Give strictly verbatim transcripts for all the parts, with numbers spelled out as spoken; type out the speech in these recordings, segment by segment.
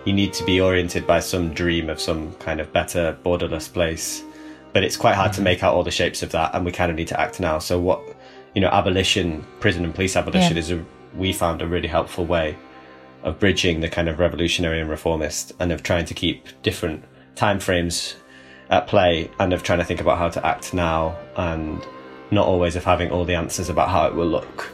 you need to be oriented by some dream of some kind of better borderless place. But it's quite hard mm-hmm. to make out all the shapes of that, and we kind of need to act now. So what, you know, abolition, prison and police abolition yeah. is, a, we found a really helpful way of bridging the kind of revolutionary and reformist, and of trying to keep different timeframes at play, and of trying to think about how to act now, and not always of having all the answers about how it will look.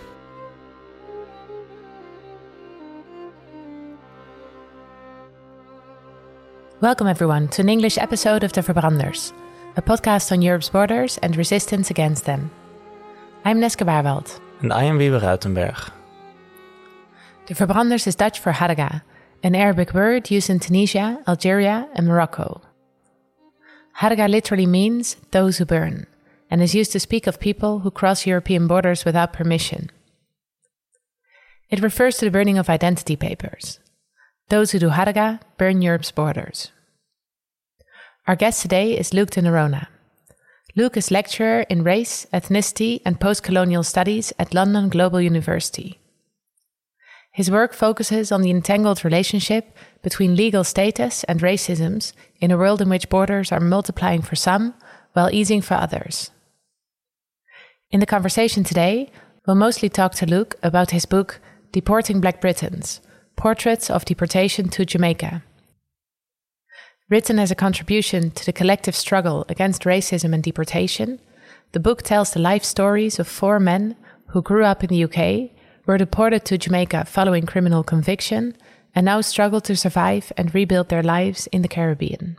Welcome everyone to an English episode of De Verbranders, a podcast on Europe's borders and resistance against them. I'm Neske Baarwald. And I am Wiebe Ruitenberg. De Verbranders is Dutch for Haraga, an Arabic word used in Tunisia, Algeria and Morocco. Haraga literally means those who burn, and is used to speak of people who cross European borders without permission. It refers to the burning of identity papers. Those who do Haraga burn Europe's borders. Our guest today is Luke de Noronha. Luke is lecturer in race, ethnicity and post-colonial studies at London Global University. His work focuses on the entangled relationship between legal status and racisms in a world in which borders are multiplying for some while easing for others. In the conversation today, we'll mostly talk to Luke about his book Deporting Black Britons, Portraits of Deportation to Jamaica. Written as a contribution to the collective struggle against racism and deportation, the book tells the life stories of four men who grew up in the U K, were deported to Jamaica following criminal conviction, and now struggle to survive and rebuild their lives in the Caribbean.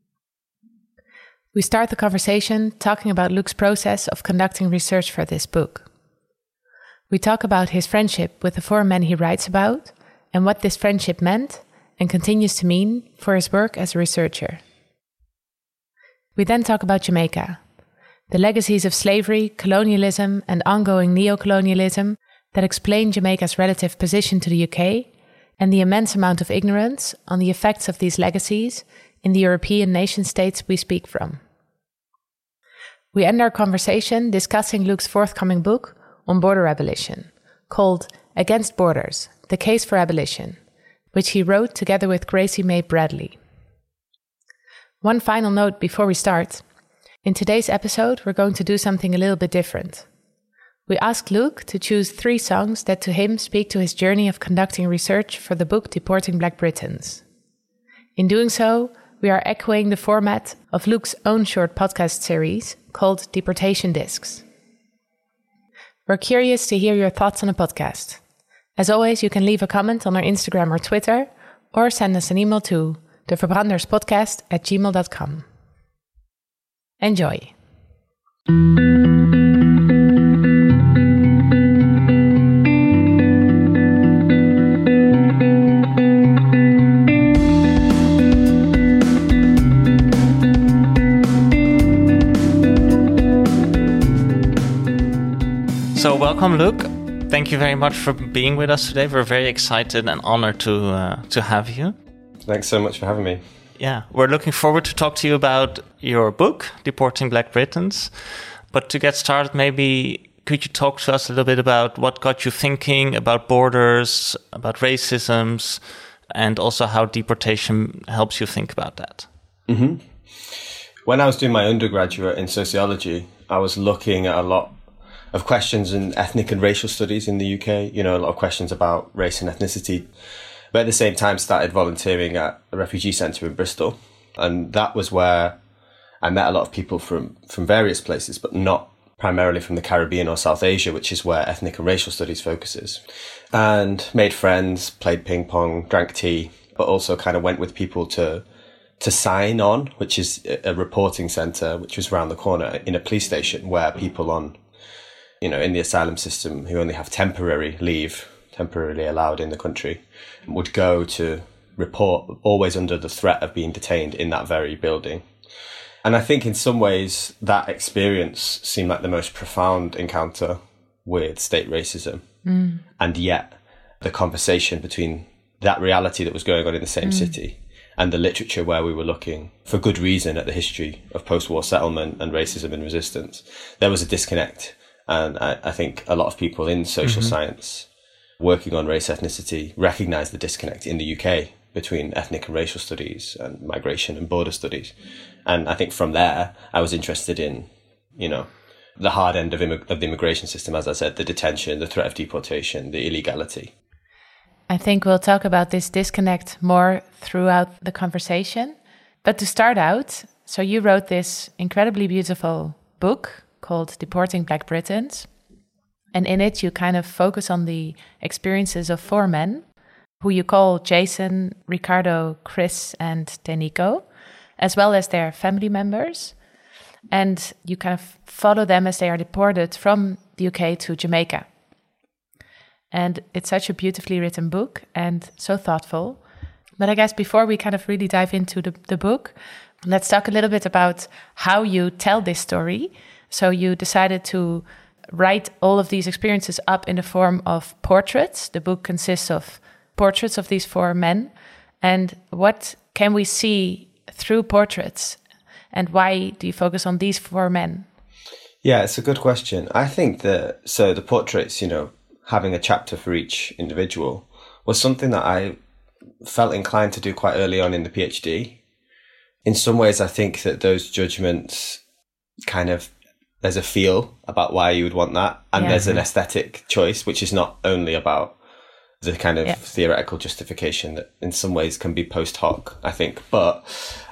We start the conversation talking about Luke's process of conducting research for this book. We talk about his friendship with the four men he writes about, and what this friendship meant and continues to mean for his work as a researcher. We then talk about Jamaica, the legacies of slavery, colonialism, and ongoing neocolonialism that explain Jamaica's relative position to the U K, and the immense amount of ignorance on the effects of these legacies in the European nation-states we speak from. We end our conversation discussing Luke's forthcoming book on border abolition, called Against Borders, The Case for Abolition, which he wrote together with Gracie May Bradley. One final note before we start. In today's episode, we're going to do something a little bit different. We asked Luke to choose three songs that to him speak to his journey of conducting research for the book Deporting Black Britons. In doing so, we are echoing the format of Luke's own short podcast series called Deportation Discs. We're curious to hear your thoughts on the podcast. As always, you can leave a comment on our Instagram or Twitter, or send us an email to deverbranderspodcast at gmail dot com. Enjoy. So welcome, Luke. Thank you very much for being with us today. We're very excited and honored to uh, to have you. Thanks so much for having me. Yeah, we're looking forward to talk to you about your book, Deporting Black Britons. But to get started, maybe could you talk to us a little bit about what got you thinking about borders, about racisms, and also how deportation helps you think about that? Mm-hmm. When I was doing my undergraduate in sociology, I was looking at a lot of questions in ethnic and racial studies in the U K, you know, a lot of questions about race and ethnicity. But at the same time, started volunteering at a refugee centre in Bristol. And that was where I met a lot of people from, from various places, but not primarily from the Caribbean or South Asia, which is where ethnic and racial studies focuses. And made friends, played ping pong, drank tea, but also kind of went with people to to Sign On, which is a reporting centre, which was around the corner in a police station where people on you know, in the asylum system who only have temporary leave, temporarily allowed in the country, would go to report, always under the threat of being detained in that very building. And I think in some ways that experience seemed like the most profound encounter with state racism. Mm. And yet the conversation between that reality that was going on in the same mm. city and the literature where we were looking, for good reason, at the history of post-war settlement and racism and resistance, there was a disconnect. And I, I think a lot of people in social mm-hmm. science working on race ethnicity recognize the disconnect in the U K between ethnic and racial studies and migration and border studies. And I think from there, I was interested in, you know, the hard end of, immig- of the immigration system, as I said, the detention, the threat of deportation, the illegality. I think we'll talk about this disconnect more throughout the conversation. But to start out, so you wrote this incredibly beautiful book called Deporting Black Britons. And in it, you kind of focus on the experiences of four men, who you call Jason, Ricardo, Chris, and Tenico, as well as their family members. And you kind of follow them as they are deported from the U K to Jamaica. And it's such a beautifully written book and so thoughtful. But I guess before we kind of really dive into the, the book, let's talk a little bit about how you tell this story. So you decided to write all of these experiences up in the form of portraits. The book consists of portraits of these four men. And what can we see through portraits? And why do you focus on these four men? Yeah, it's a good question. I think that, so the portraits, you know, having a chapter for each individual was something that I felt inclined to do quite early on in the PhD. In some ways, I think that those judgments kind of, there's a feel about why you would want that. And yeah. there's an aesthetic choice, which is not only about the kind of yeah. theoretical justification that in some ways can be post hoc, I think. But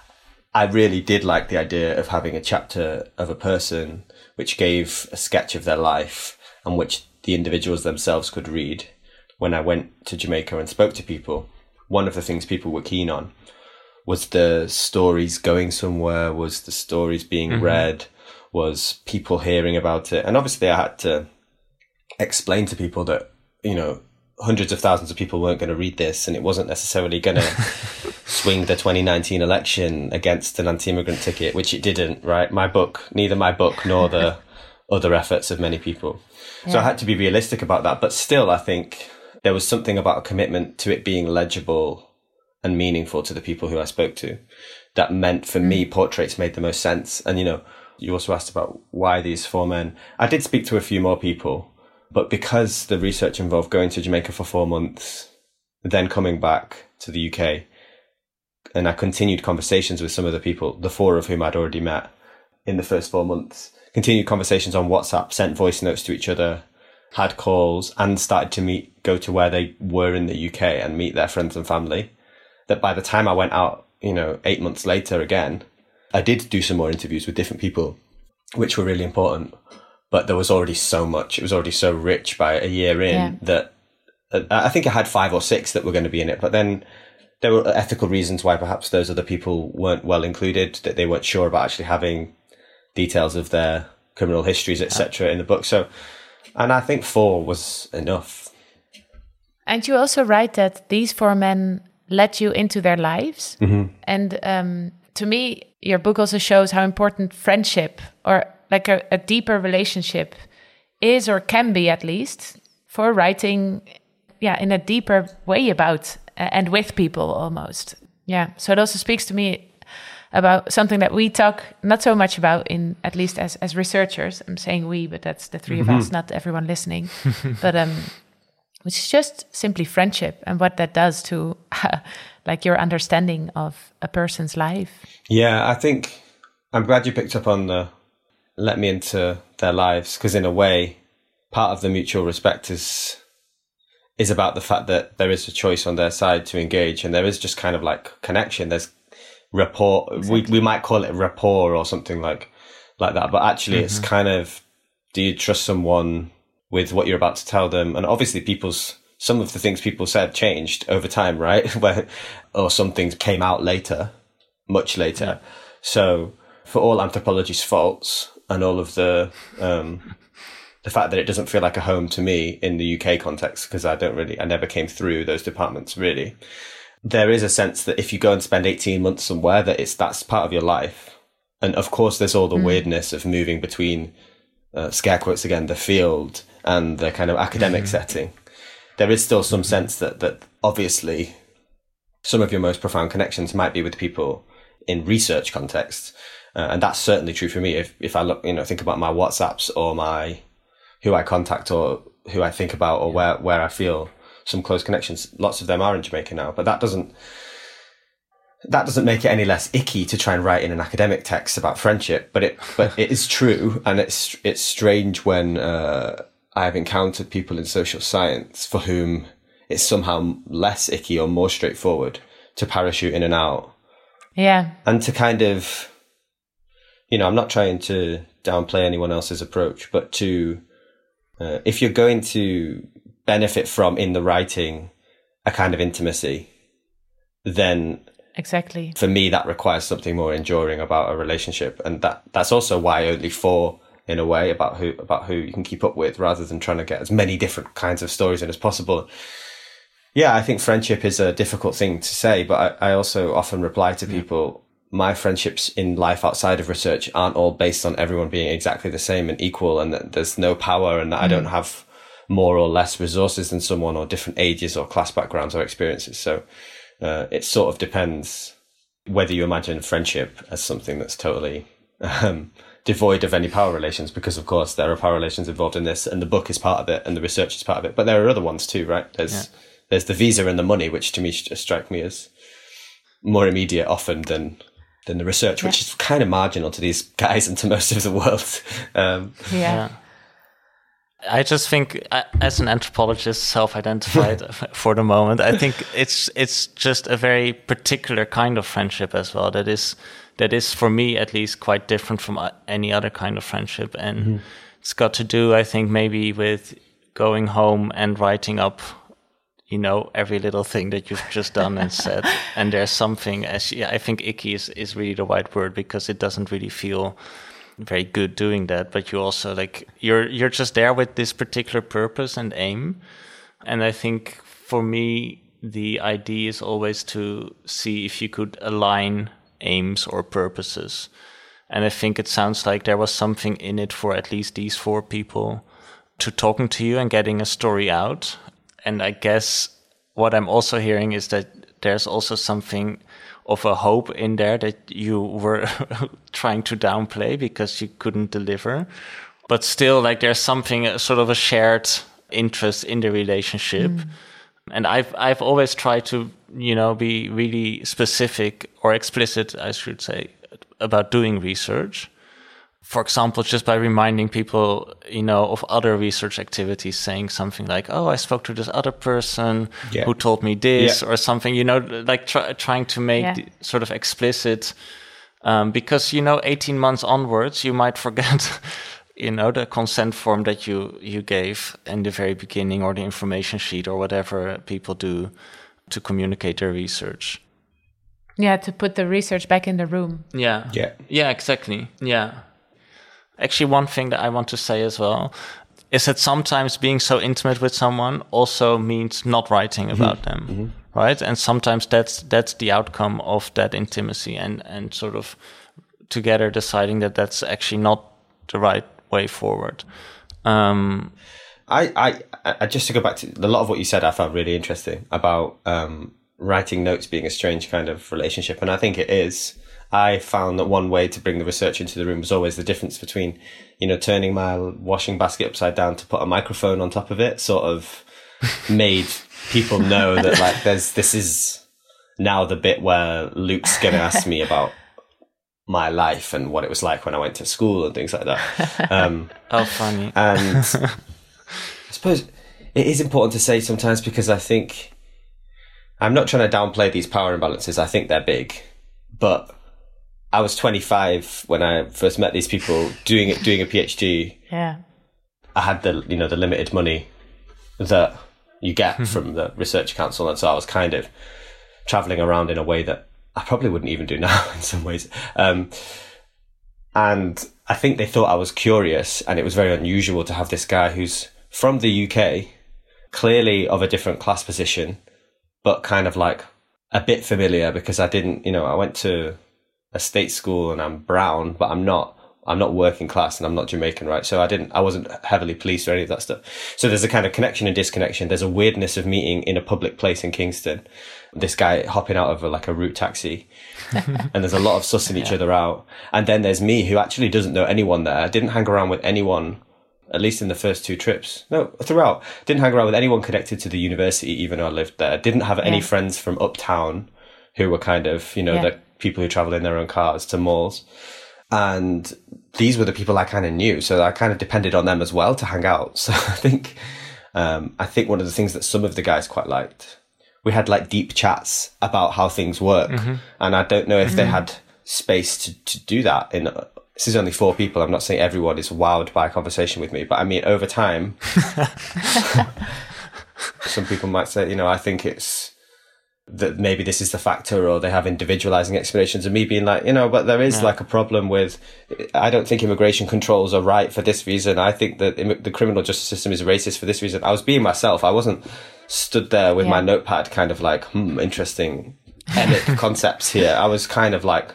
I really did like the idea of having a chapter of a person which gave a sketch of their life and which the individuals themselves could read. When I went to Jamaica and spoke to people, one of the things people were keen on was the stories going somewhere, was the stories being mm-hmm. read, was people hearing about it. And obviously I had to explain to people that, you know, hundreds of thousands of people weren't going to read this and it wasn't necessarily going to swing the twenty nineteen election against an anti-immigrant ticket, which it didn't, right? My book, neither my book nor the other efforts of many people. Yeah. So I had to be realistic about that. But still, I think there was something about a commitment to it being legible and meaningful to the people who I spoke to that meant for mm. me, portraits made the most sense. And, you know, you also asked about why these four men. I did speak to a few more people, but because the research involved going to Jamaica for four months, then coming back to the U K, and I continued conversations with some of the people, the four of whom I'd already met in the first four months, continued conversations on WhatsApp, sent voice notes to each other, had calls, and started to meet, go to where they were in the U K and meet their friends and family. That by the time I went out, you know, eight months later again, I did do some more interviews with different people, which were really important. But there was already so much. It was already so rich by a year in yeah. that uh, I think I had five or six that were going to be in it. But then there were ethical reasons why perhaps those other people weren't well included, that they weren't sure about actually having details of their criminal histories, et cetera, in the book. So, and I think four was enough. And you also write that these four men let you into their lives. Mm-hmm. And um, to me, your book also shows how important friendship or like a, a deeper relationship is, or can be at least, for writing yeah, in a deeper way about uh, and with people almost. Yeah, so it also speaks to me about something that we talk not so much about in, at least as, as researchers. I'm saying we, but that's the three mm-hmm. of us, not everyone listening. But um, which is just simply friendship and what that does to uh, like your understanding of a person's life. Yeah, I think I'm glad you picked up on the let me into their lives, because in a way, part of the mutual respect is is about the fact that there is a choice on their side to engage, and there is just kind of like connection. There's rapport. Exactly. We we might call it rapport or something like like that, but actually, mm-hmm. it's kind of, do you trust someone with what you're about to tell them? And obviously, people's some of the things people said changed over time, right? Where or some things came out later, much later. Yeah. So for all anthropology's faults and all of the um, the fact that it doesn't feel like a home to me in the U K context, because I don't really, I never came through those departments really. There is a sense that if you go and spend eighteen months somewhere, that it's that's part of your life. And of course, there's all the mm. weirdness of moving between, uh, scare quotes again, the field and the kind of academic mm. setting. There is still some sense that that obviously some of your most profound connections might be with people in research contexts. Uh, and that's certainly true for me. If if I look, you know, think about my WhatsApps or my who I contact or who I think about or where, where I feel some close connections, lots of them are in Jamaica now. But that doesn't that doesn't make it any less icky to try and write in an academic text about friendship, but it but it is true, and it's it's strange when uh, I've encountered people in social science for whom it's somehow less icky or more straightforward to parachute in and out. Yeah. And to kind of, you know, I'm not trying to downplay anyone else's approach, but to, uh, if you're going to benefit from in the writing a kind of intimacy, then exactly, for me, that requires something more enduring about a relationship. And that, that's also why only four, in a way, about who, about who you can keep up with, rather than trying to get as many different kinds of stories in as possible. Yeah, I think friendship is a difficult thing to say, but I, I also often reply to people, my friendships in life outside of research aren't all based on everyone being exactly the same and equal, and that there's no power, and that mm. I don't have more or less resources than someone, or different ages or class backgrounds or experiences. So uh, it sort of depends whether you imagine friendship as something that's totally um, devoid of any power relations, because of course there are power relations involved in this, and the book is part of it and the research is part of it. But there are other ones too, right? There's yeah. there's the visa and the money, which to me strike me as more immediate often than than the research, yeah. which is kind of marginal to these guys and to most of the world. Um, yeah. yeah. I just think, as an anthropologist, self-identified for the moment, I think it's it's just a very particular kind of friendship as well. That is that is for me at least quite different from any other kind of friendship, and mm-hmm. it's got to do, I think, maybe with going home and writing up, you know, every little thing that you've just done and said. And there's something, as yeah, I think icky is is really the right word, because it doesn't really feel very good doing that, but you also like you're you're just there with this particular purpose and aim. And I think for me the idea is always to see if you could align aims or purposes, and I think it sounds like there was something in it for at least these four people to talking to you and getting a story out. And I guess what I'm also hearing is that there's also something of a hope in there that you were trying to downplay because you couldn't deliver. But still, like, there's something, sort of a shared interest in the relationship. Mm. And I've I've always tried to, you know, be really specific or explicit, I should say, about doing research. For example, just by reminding people, you know, of other research activities, saying something like, oh, I spoke to this other person yeah. who told me this, yeah. or something, you know, like try, trying to make yeah. the, sort of explicit, um, because, you know, eighteen months onwards, you might forget, you know, the consent form that you, you gave in the very beginning, or the information sheet, or whatever people do to communicate their research. Yeah, to put the research back in the room. Yeah. Yeah. Yeah, exactly. Yeah. Actually, one thing that I want to say as well is that sometimes being so intimate with someone also means not writing about mm-hmm. them, mm-hmm. right? And sometimes that's that's the outcome of that intimacy, and, and sort of together deciding that that's actually not the right way forward. Um, I, I, I just to go back to a lot of what you said, I found really interesting about um, writing notes being a strange kind of relationship, and I think it is. I found that one way to bring the research into the room was always the difference between, you know, turning my washing basket upside down to put a microphone on top of it, sort of made people know that, like, there's, this is now the bit where Luke's going to ask me about my life and what it was like when I went to school and things like that. Um, oh, funny. And I suppose it is important to say sometimes, because I think I'm not trying to downplay these power imbalances. I think they're big, but I was twenty-five when I first met these people doing it, doing a PhD. Yeah. I had the, you know, the limited money that you get from the Research Council. And so I was kind of traveling around in a way that I probably wouldn't even do now in some ways. Um, and I think they thought I was curious, and it was very unusual to have this guy who's from the U K, clearly of a different class position, but kind of like a bit familiar, because I didn't, you know, I went to a state school and I'm brown, but I'm not, I'm not working class and I'm not Jamaican, right? So I didn't, I wasn't heavily policed or any of that stuff. So there's a kind of connection and disconnection. There's a weirdness of meeting in a public place in Kingston, this guy hopping out of a, like a route taxi, and there's a lot of sussing each yeah. other out. And then there's me, who actually doesn't know anyone there, didn't hang around with anyone, at least in the first two trips. No, throughout. Didn't hang around with anyone connected to the university, even though I lived there. Didn't have any yeah. friends from uptown. who were kind of, you know, Yeah. the people who travel in their own cars to malls. And these were the people I kind of knew. So I kind of depended on them as well to hang out. So I think, um, I think one of the things that some of the guys quite liked, we had like deep chats about how things work. Mm-hmm. And I don't know if mm-hmm. they had space to, to do that. In uh, this is only four people. I'm not saying everyone is wowed by a conversation with me, but I mean, over time, some people might say, you know, I think it's that maybe this is the factor, or they have individualizing explanations, and me being like, you know, but there is yeah. like a problem with, I don't think immigration controls are right for this reason. I think that im- the criminal justice system is racist for this reason. I was being myself. I wasn't stood there with yeah. my notepad kind of like, hmm, interesting concepts here. I was kind of like,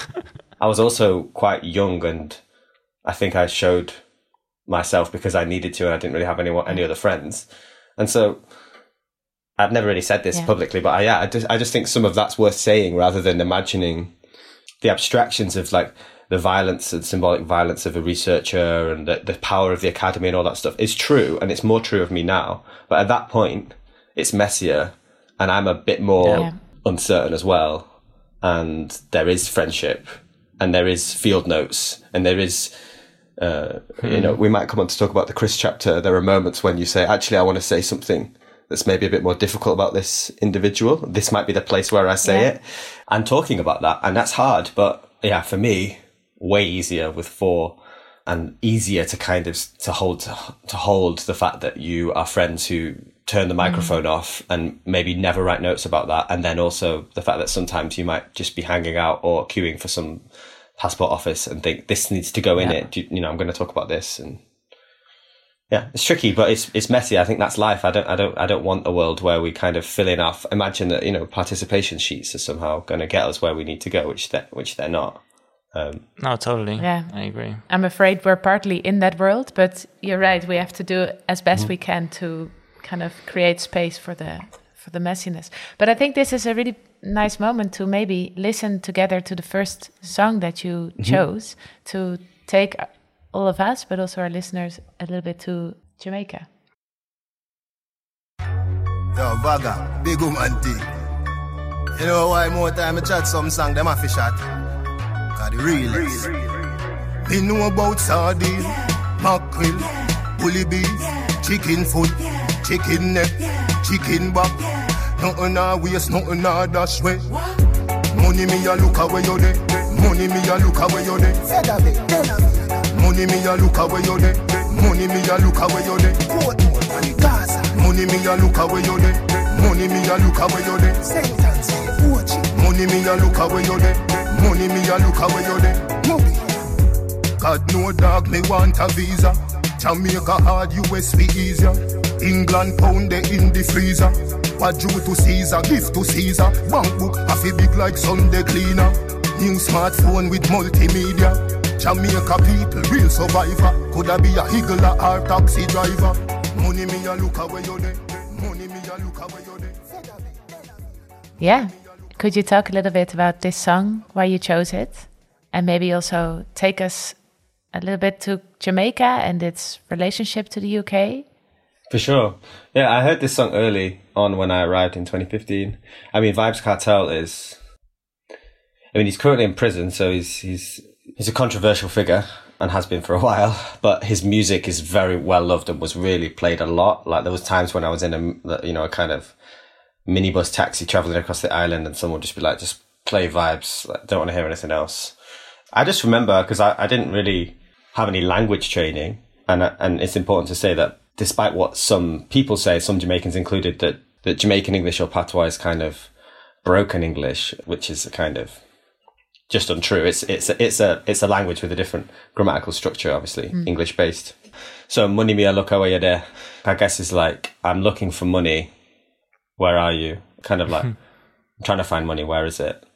I was also quite young, and I think I showed myself because I needed to, and I didn't really have any, any other friends. And so I've never really said this yeah. publicly, but I, yeah, I just, I just think some of that's worth saying rather than imagining the abstractions of like the violence and symbolic violence of a researcher and the, the power of the academy and all that stuff is true. And it's more true of me now. But at that point, it's messier, and I'm a bit more yeah. uncertain as well. And there is friendship, and there is field notes, and there is, uh, hmm. you know, we might come on to talk about the Chris chapter. There are moments when you say, actually, I want to say something that's maybe a bit more difficult about this individual. This might be the place where I say yeah. it. And talking about that, and that's hard, but yeah, for me, way easier with four, and easier to kind of to hold to hold the fact that you are friends who turn the microphone mm. off and maybe never write notes about that, and then also the fact that sometimes you might just be hanging out or queuing for some passport office and think this needs to go in yeah. it. You, you know, I'm going to talk about this. And yeah, it's tricky, but it's it's messy. I think that's life. I don't I don't I don't want a world where we kind of fill in our imagine that, you know, participation sheets are somehow going to get us where we need to go, which they which they're not. Um, no, totally. Yeah, I agree. I'm afraid we're partly in that world, but you're right. We have to do as best mm-hmm. we can to kind of create space for the for the messiness. But I think this is a really nice moment to maybe listen together to the first song that you mm-hmm. chose to take all of us, but also our listeners, a little bit to Jamaica. Yo, Vaga, big woman thing. You know why more time I chat some song, them have to shot? Cause the real is. Me know about sardine, mackerel, bully beef, chicken foot, chicken neck, chicken back. Nothing a waste, nothing a dash way. Money me a look away you there. Money me a look away you there. Money me a look away you there. Money me a look away you there. Money me a look away you there. Money me a look away you there. Money me a look away you there. Money me a look away you there. God no dog me want a visa. Jamaica hard, U S be easier. England pound they in the freezer. What due to Caesar, gift to Caesar. Bank book half a big like Sunday cleaner. New smartphone with multimedia. Jamaica people, real survivor. Coulda be a higgler or taxi driver. Money me a look away you there. Money me a look away you there. Yeah. Could you talk a little bit about this song, why you chose it? And maybe also take us a little bit to Jamaica and its relationship to the U K? For sure. Yeah, I heard this song early on when I arrived in twenty fifteen. I mean, Vybz Kartel is... I mean, he's currently in prison, so he's he's he's a controversial figure and has been for a while. But his music is very well loved and was really played a lot. Like there was times when I was in a you know a kind of minibus taxi traveling across the island, and someone would just be like, "Just play Vybz. Like, don't want to hear anything else." I just remember because I, I didn't really have any language training, and and it's important to say that despite what some people say, some Jamaicans included, that that Jamaican English or patois is kind of broken English, which is a kind of just untrue. It's it's a, it's a it's a language with a different grammatical structure, obviously mm. English based. So money me a look away there, I guess is like I'm looking for money. Where are you? Kind of like I'm trying to find money. Where is it?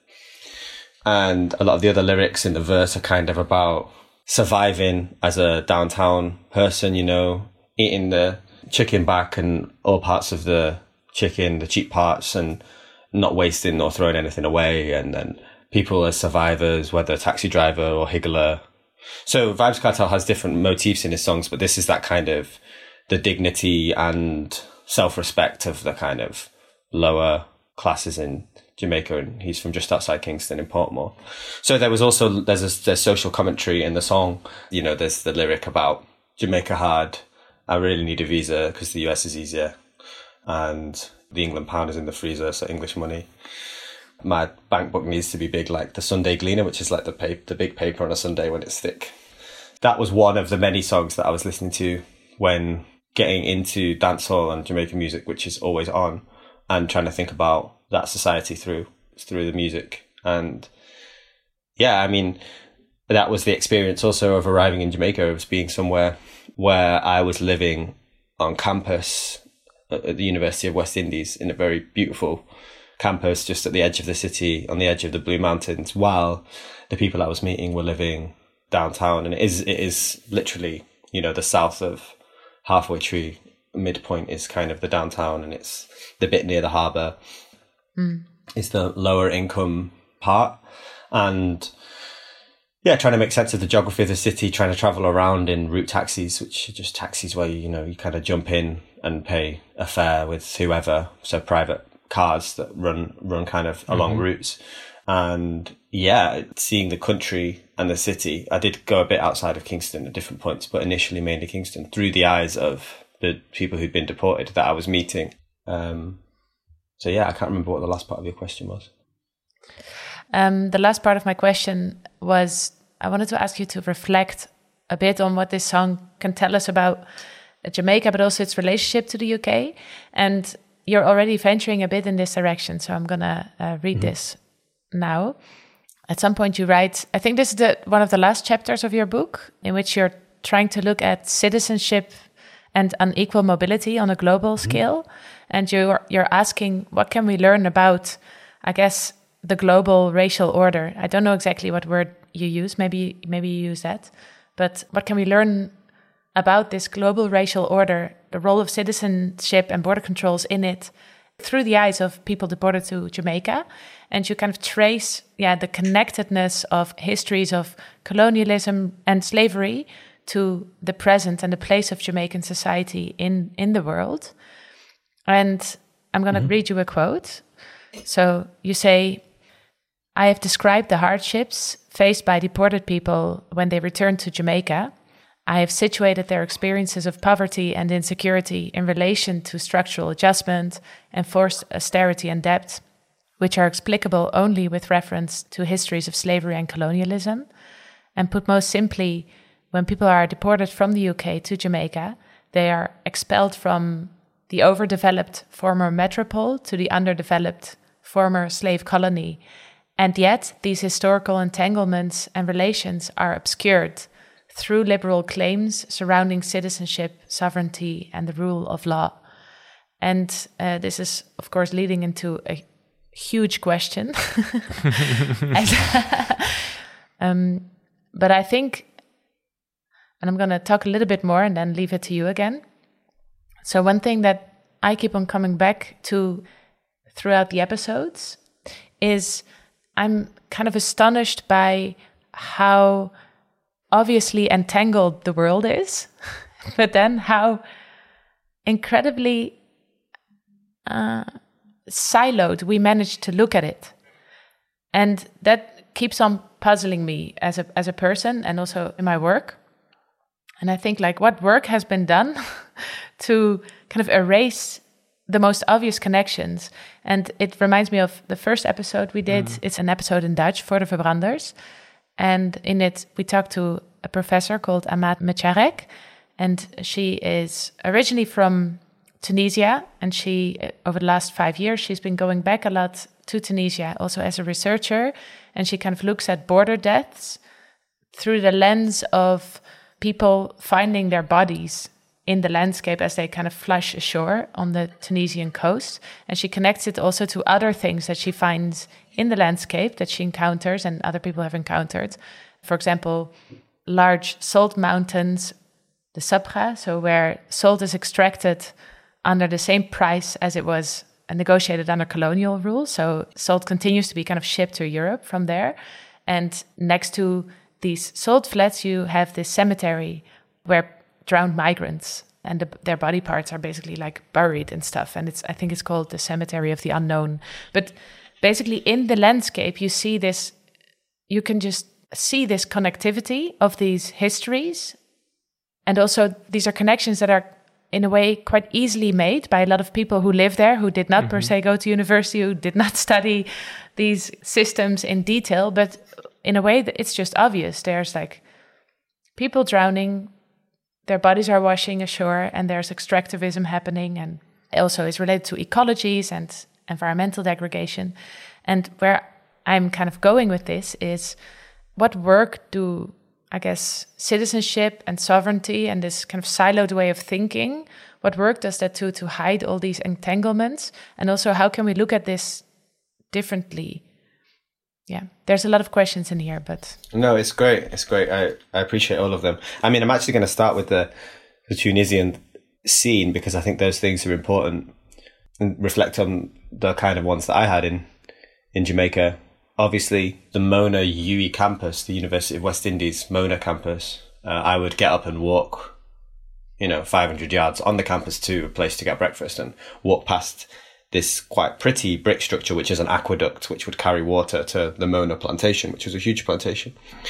And a lot of the other lyrics in the verse are kind of about surviving as a downtown person. You know, eating the chicken back and all parts of the chicken, the cheap parts, and not wasting or throwing anything away, and then people as survivors, whether taxi driver or higgler. So Vybz Kartel has different motifs in his songs, but this is that kind of the dignity and self-respect of the kind of lower classes in Jamaica, and he's from just outside Kingston in Portmore. So there was also, there's a there's social commentary in the song. You know, there's the lyric about Jamaica hard, I really need a visa because the U S is easier, and the England pound is in the freezer, so English money. My bank book needs to be big like the Sunday Gleaner, which is like the paper, the big paper on a Sunday when it's thick. That was one of the many songs that I was listening to when getting into dancehall and Jamaican music, which is always on, and trying to think about that society through through the music. And yeah, I mean, that was the experience also of arriving in Jamaica, of being somewhere where I was living on campus at the University of West Indies, in a very beautiful campus just at the edge of the city, on the edge of the Blue Mountains, while the people I was meeting were living downtown. And it is it is literally, you know, the south of Halfway Tree, midpoint is kind of the downtown, and it's the bit near the harbour. Mm. It's the lower income part. And yeah, trying to make sense of the geography of the city, trying to travel around in route taxis, which are just taxis where, you know, you kind of jump in and pay a fare with whoever. So private cars that run, run kind of along mm-hmm. routes. And yeah, seeing the country and the city. I did go a bit outside of Kingston at different points, but initially mainly Kingston, through the eyes of the people who'd been deported that I was meeting. Um, so yeah, I can't remember what the last part of your question was. Um, the last part of my question was, I wanted to ask you to reflect a bit on what this song can tell us about Jamaica, but also its relationship to the U K. And you're already venturing a bit in this direction, so I'm going to uh, read mm-hmm. this now. At some point you write, I think this is the one of the last chapters of your book, in which you're trying to look at citizenship and unequal mobility on a global mm-hmm. scale. And you're, you're asking, what can we learn about, I guess, the global racial order? I don't know exactly what word you use. Maybe maybe you use that. But what can we learn about this global racial order, the role of citizenship and border controls in it, through the eyes of people deported to Jamaica? And you kind of trace, yeah, the connectedness of histories of colonialism and slavery to the present and the place of Jamaican society in, in the world. And I'm going to mm-hmm. read you a quote. So you say, I have described the hardships faced by deported people when they return to Jamaica. I have situated their experiences of poverty and insecurity in relation to structural adjustment, enforced austerity and debt, which are explicable only with reference to histories of slavery and colonialism. And put most simply, when people are deported from the U K to Jamaica, they are expelled from the overdeveloped former metropole to the underdeveloped former slave colony. And yet, these historical entanglements and relations are obscured through liberal claims surrounding citizenship, sovereignty, and the rule of law. And uh, this is, of course, leading into a huge question. and, um, but I think, and I'm going to talk a little bit more and then leave it to you again. So one thing that I keep on coming back to throughout the episodes is I'm kind of astonished by how obviously entangled the world is, but then how incredibly uh, siloed we manage to look at it. And that keeps on puzzling me as a as a person and also in my work. And I think, like, what work has been done to kind of erase the most obvious connections. And it reminds me of the first episode we did. Mm. It's an episode in Dutch, Voor de Verbranders. And in it, we talked to a professor called Amat Mecharek. And she is originally from Tunisia. And she, over the last five years, she's been going back a lot to Tunisia, also as a researcher. And she kind of looks at border deaths through the lens of people finding their bodies in the landscape as they kind of flush ashore on the Tunisian coast. And she connects it also to other things that she finds in the landscape that she encounters and other people have encountered. For example, large salt mountains, the Sabra, so where salt is extracted under the same price as it was negotiated under colonial rule. So salt continues to be kind of shipped to Europe from there. And next to these salt flats, you have this cemetery where drowned migrants and the, their body parts are basically like buried and stuff. And it's, I think it's called the Cemetery of the Unknown. But basically in the landscape, you see this, you can just see this connectivity of these histories. And also these are connections that are in a way quite easily made by a lot of people who live there, who did not mm-hmm. per se go to university, who did not study these systems in detail. But in a way, that it's just obvious. There's like people drowning, their bodies are washing ashore, and there's extractivism happening. And also it's related to ecologies and environmental degradation. And where I'm kind of going with this is, what work do, I guess, citizenship and sovereignty and this kind of siloed way of thinking, what work does that do to hide all these entanglements? And also, how can we look at this differently? Yeah, there's a lot of questions in here, but... No, it's great. It's great. I, I appreciate all of them. I mean, I'm actually going to start with the, the Tunisian scene, because I think those things are important and reflect on the kind of ones that I had in, in Jamaica. Obviously, the Mona U E campus, the University of West Indies Mona campus, uh, I would get up and walk, you know, five hundred yards on the campus to a place to get breakfast and walk past this quite pretty brick structure, which is an aqueduct, which would carry water to the Mona plantation, which was a huge plantation.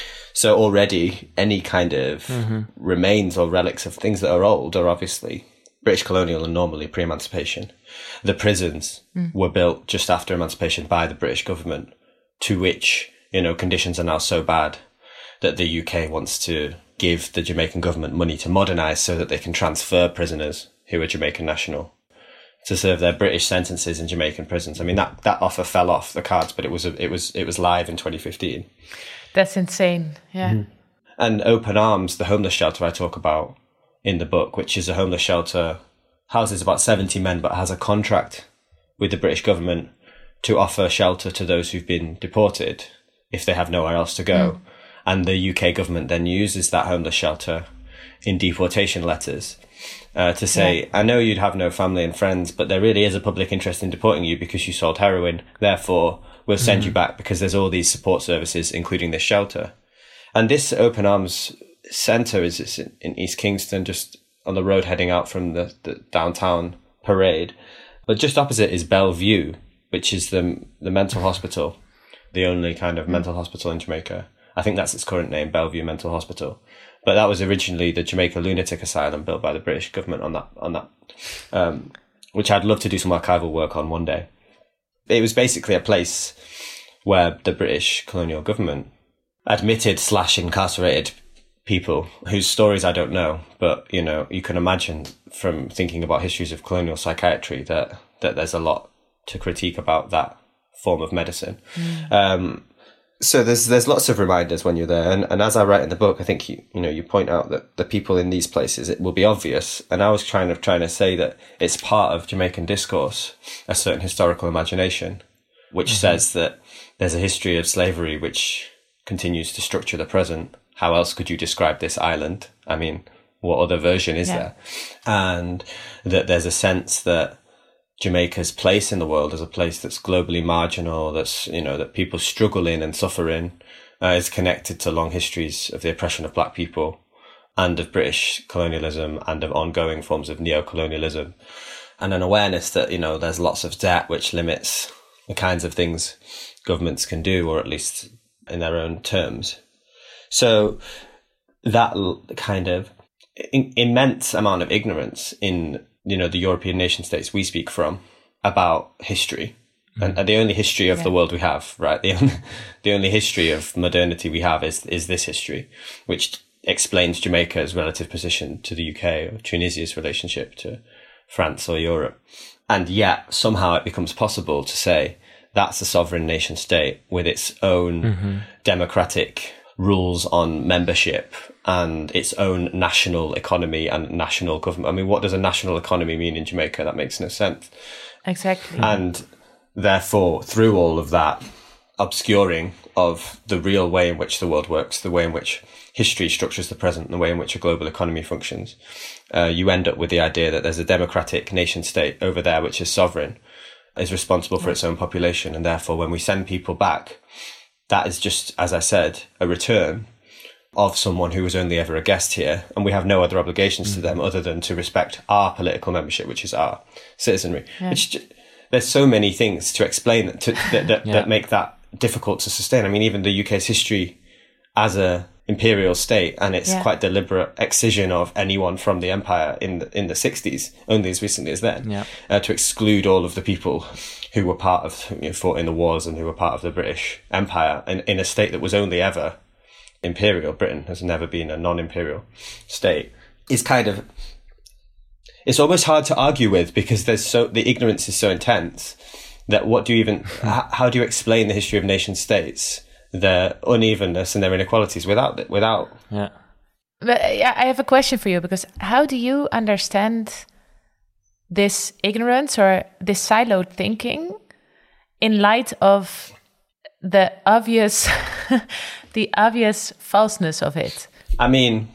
So already any kind of mm-hmm. remains or relics of things that are old are obviously British colonial and normally pre-emancipation. The prisons mm. were built just after emancipation by the British government, to which, you know, conditions are now so bad that the U K wants to give the Jamaican government money to modernise so that they can transfer prisoners who are Jamaican national to serve their British sentences in Jamaican prisons. I mean, that, that offer fell off the cards, but it was a, it was it was live in twenty fifteen. That's insane, yeah. Mm-hmm. And Open Arms, the homeless shelter I talk about in the book, which is a homeless shelter, houses about seventy men, but has a contract with the British government to offer shelter to those who've been deported if they have nowhere else to go. Mm. And the U K government then uses that homeless shelter in deportation letters uh, to say, yeah. I know you'd have no family and friends, but there really is a public interest in deporting you because you sold heroin. Therefore, we'll send mm. you back because there's all these support services, including this shelter. And this Open Arms Centre is in East Kingston, just on the road heading out from the, the downtown parade. But just opposite is Bellevue, which is the the mental hospital, the only kind of mental hospital in Jamaica. I think that's its current name, Bellevue Mental Hospital. But that was originally the Jamaica Lunatic Asylum built by the British government on that, on that, um, which I'd love to do some archival work on one day. It was basically a place where the British colonial government admitted slash incarcerated people whose stories I don't know, but, you know, you can imagine from thinking about histories of colonial psychiatry that, that there's a lot to critique about that form of medicine. Mm. Um, so there's there's lots of reminders when you're there. And, and as I write in the book, I think, you, you know, you point out that the people in these places, it will be obvious. And I was trying to, trying to say that it's part of Jamaican discourse, a certain historical imagination, which mm-hmm. says that there's a history of slavery which continues to structure the present. How else could you describe this island? I mean, what other version is yeah. there? And that there's a sense that Jamaica's place in the world as a place that's globally marginal, that's, you know, that people struggle in and suffer in, uh, is connected to long histories of the oppression of black people and of British colonialism and of ongoing forms of neo-colonialism, and an awareness that, you know, there's lots of debt which limits the kinds of things governments can do, or at least in their own terms. So that kind of in- immense amount of ignorance in, you know, the European nation states we speak from about history, mm-hmm. and, and the only history of yeah. the world we have, right? The only, the only history of modernity we have is is this history, which explains Jamaica's relative position to the U K or Tunisia's relationship to France or Europe. And yet somehow it becomes possible to say that's a sovereign nation state with its own mm-hmm. democratic rules on membership and its own national economy and national government. I mean, what does a national economy mean in Jamaica? That makes no sense. Exactly. And therefore, through all of that obscuring of the real way in which the world works, the way in which history structures the present, the way in which a global economy functions, uh, you end up with the idea that there's a democratic nation state over there which is sovereign, is responsible for its own population. And therefore, when we send people back, that is just, as I said, a return of someone who was only ever a guest here, and we have no other obligations mm-hmm. to them other than to respect our political membership, which is our citizenry. Yeah. Which, there's so many things to explain that, to, that, that, yeah. that make that difficult to sustain. I mean, even the U K's history as a imperial state and its yeah. quite deliberate excision of anyone from the empire in the, in the sixties, only as recently as then, yeah. uh, to exclude all of the people who were part of, you know, fought in the wars and who were part of the British Empire in, in a state that was only ever imperial. Britain has never been a non-imperial state. Is kind of, it's almost hard to argue with because there's so, the ignorance is so intense that what do you even, how, how do you explain the history of nation states, their unevenness and their inequalities without it, without. Yeah. But yeah, I have a question for you, because how do you understand this ignorance or this siloed thinking in light of the obvious, the obvious falseness of it? I mean,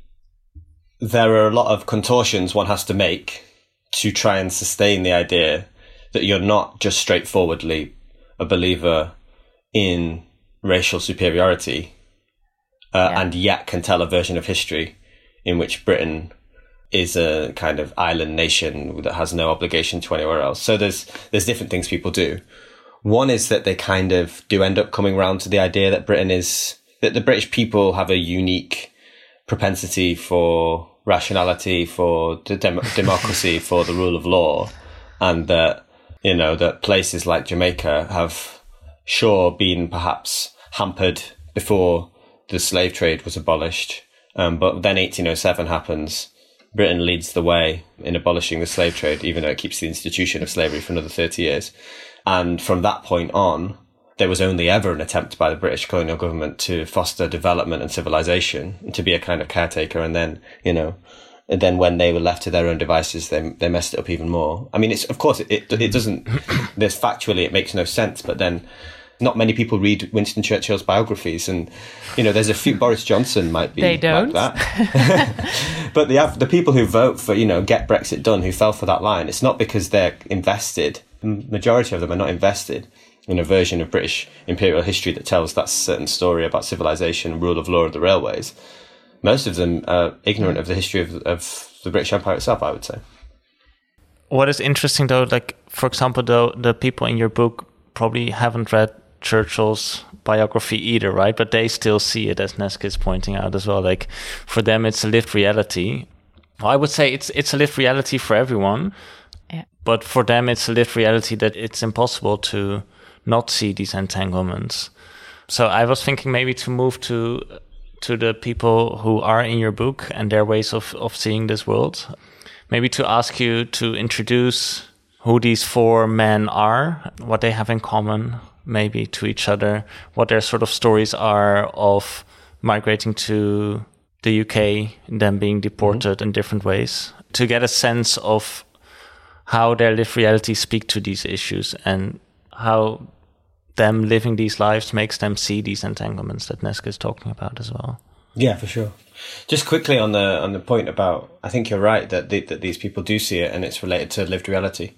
there are a lot of contortions one has to make to try and sustain the idea that you're not just straightforwardly a believer in racial superiority, uh, yeah. and yet can tell a version of history in which Britain is a kind of island nation that has no obligation to anywhere else. So there's there's different things people do. One is that they kind of do end up coming around to the idea that Britain is, that the British people have a unique propensity for rationality, for the dem- democracy, for the rule of law, and that, you know, that places like Jamaica have sure been perhaps hampered before the slave trade was abolished. Um, but then eighteen oh seven happens. Britain leads the way in abolishing the slave trade, even though it keeps the institution of slavery for another thirty years. And from that point on, there was only ever an attempt by the British colonial government to foster development and civilization, and to be a kind of caretaker. And then, you know, and then when they were left to their own devices, they they messed it up even more. I mean, it's of course, it, it, it doesn't, this factually, it makes no sense, but then not many people read Winston Churchill's biographies, and, you know, there's a few, Boris Johnson might be they don't. like that. But the the people who vote for, you know, get Brexit done, who fell for that line, it's not because they're invested. The majority of them are not invested in a version of British imperial history that tells that certain story about civilization, rule of law of the railways. Most of them are ignorant of the history of, of the British Empire itself, I would say. What is interesting, though, like, for example, though, the people in your book probably haven't read Churchill's biography either, right? But they still see it, as Neske is pointing out as well. Like, for them, it's a lived reality. Well, I would say it's it's a lived reality for everyone. Yeah. But for them, it's a lived reality that it's impossible to not see these entanglements. So I was thinking maybe to move to to the people who are in your book and their ways of, of seeing this world. Maybe to ask you to introduce who these four men are, what they have in common, maybe to each other, what their sort of stories are of migrating to the U K and then being deported mm-hmm. in different ways, to get a sense of how their lived realities speak to these issues and how them living these lives makes them see these entanglements that Neske is talking about as well. Yeah, for sure. Just quickly on the on the point about, I think you're right that the, that these people do see it and it's related to lived reality.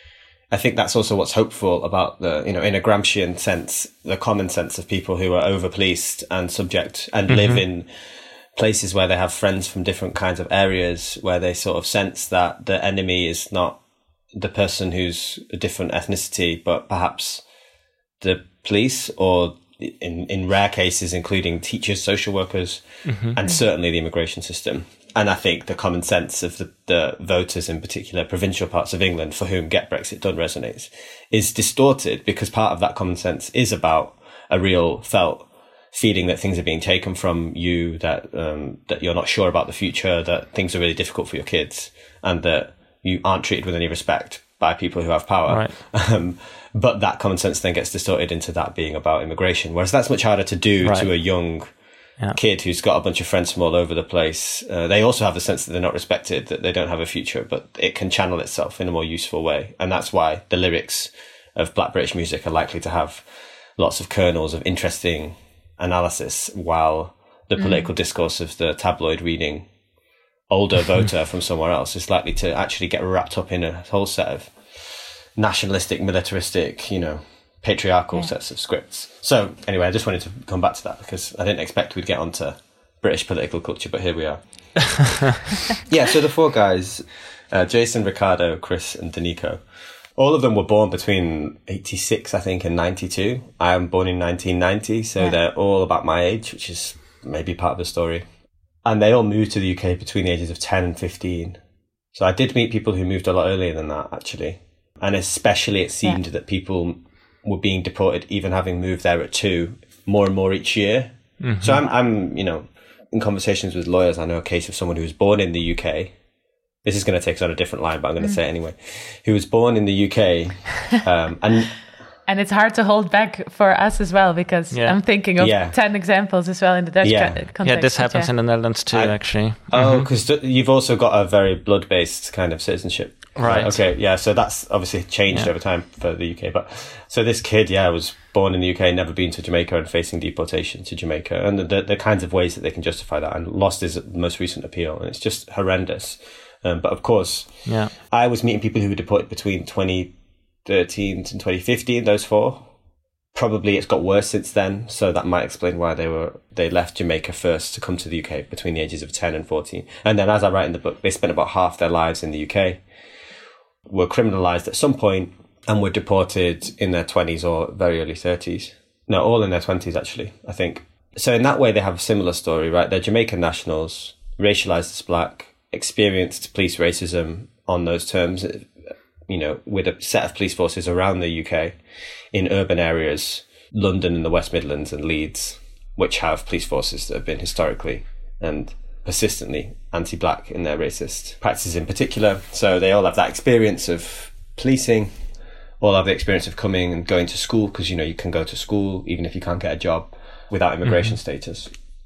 I think that's also what's hopeful about the, you know, in a Gramscian sense, the common sense of people who are over-policed and subject and mm-hmm. live in places where they have friends from different kinds of areas, where they sort of sense that the enemy is not the person who's a different ethnicity, but perhaps the police, or in, in rare cases, including teachers, social workers, mm-hmm. and certainly the immigration system. And I think the common sense of the, the voters, in particular provincial parts of England, for whom Get Brexit Done resonates, is distorted because part of that common sense is about a real felt feeling that things are being taken from you, that um, that you're not sure about the future, that things are really difficult for your kids, and that you aren't treated with any respect by people who have power. Right. Um, but that common sense then gets distorted into that being about immigration, whereas that's much harder to do right. to a young yeah. kid who's got a bunch of friends from all over the place. Uh, they also have the sense that they're not respected, that they don't have a future, but it can channel itself in a more useful way. And that's why the lyrics of Black British music are likely to have lots of kernels of interesting analysis, while the mm. political discourse of the tabloid reading older voter from somewhere else is likely to actually get wrapped up in a whole set of nationalistic, militaristic, you know, patriarchal yeah. sets of scripts. So anyway, I just wanted to come back to that because I didn't expect we'd get onto British political culture, but here we are. Yeah, so the four guys, uh, Jason, Ricardo, Chris and Danico, All of them were born between eighty-six, I think, and ninety-two. I am born in nineteen ninety, so yeah. They're all about my age, which is maybe part of the story. And they all moved to the U K between the ages of ten and fifteen. So I did meet people who moved a lot earlier than that, actually. And especially it seemed yeah. that people were being deported, even having moved there at two, more and more each year. Mm-hmm. So I'm, I'm, you know, in conversations with lawyers, I know a case of someone who was born in the U K. This is going to take us on a different line, but I'm going to mm. say it anyway. Who was born in the U K. Um, and and it's hard to hold back for us as well, because yeah. I'm thinking of yeah. ten examples as well in the Dutch yeah. context. Yeah, this happens yeah. in the Netherlands too, I, actually. Oh, because mm-hmm. you've also got a very blood-based kind of citizenship. Right. Okay, yeah, so that's obviously changed yeah. over time for the U K. But so this kid, yeah, was born in the U K, never been to Jamaica and facing deportation to Jamaica. And the, the, the kinds of ways that they can justify that, and lost his most recent appeal. And it's just horrendous. Um, but of course, yeah. I was meeting people who were deported between twenty thirteen and twenty fifteen, those four. Probably it's got worse since then, so that might explain why they were they left Jamaica first to come to the U K between the ages of ten and fourteen. And then, as I write in the book, they spent about half their lives in the U K, were criminalised at some point, and were deported in their twenties or very early thirties. No, all in their twenties, actually, I think. So in that way, they have a similar story, right? They're Jamaican nationals, racialised as black, experienced police racism on those terms, you know, with a set of police forces around the U K in urban areas, London and the West Midlands and Leeds, which have police forces that have been historically and persistently anti-black in their racist practices in particular. So they all have that experience of policing, all have the experience of coming and going to school, because, you know, you can go to school even if you can't get a job without immigration mm-hmm. status.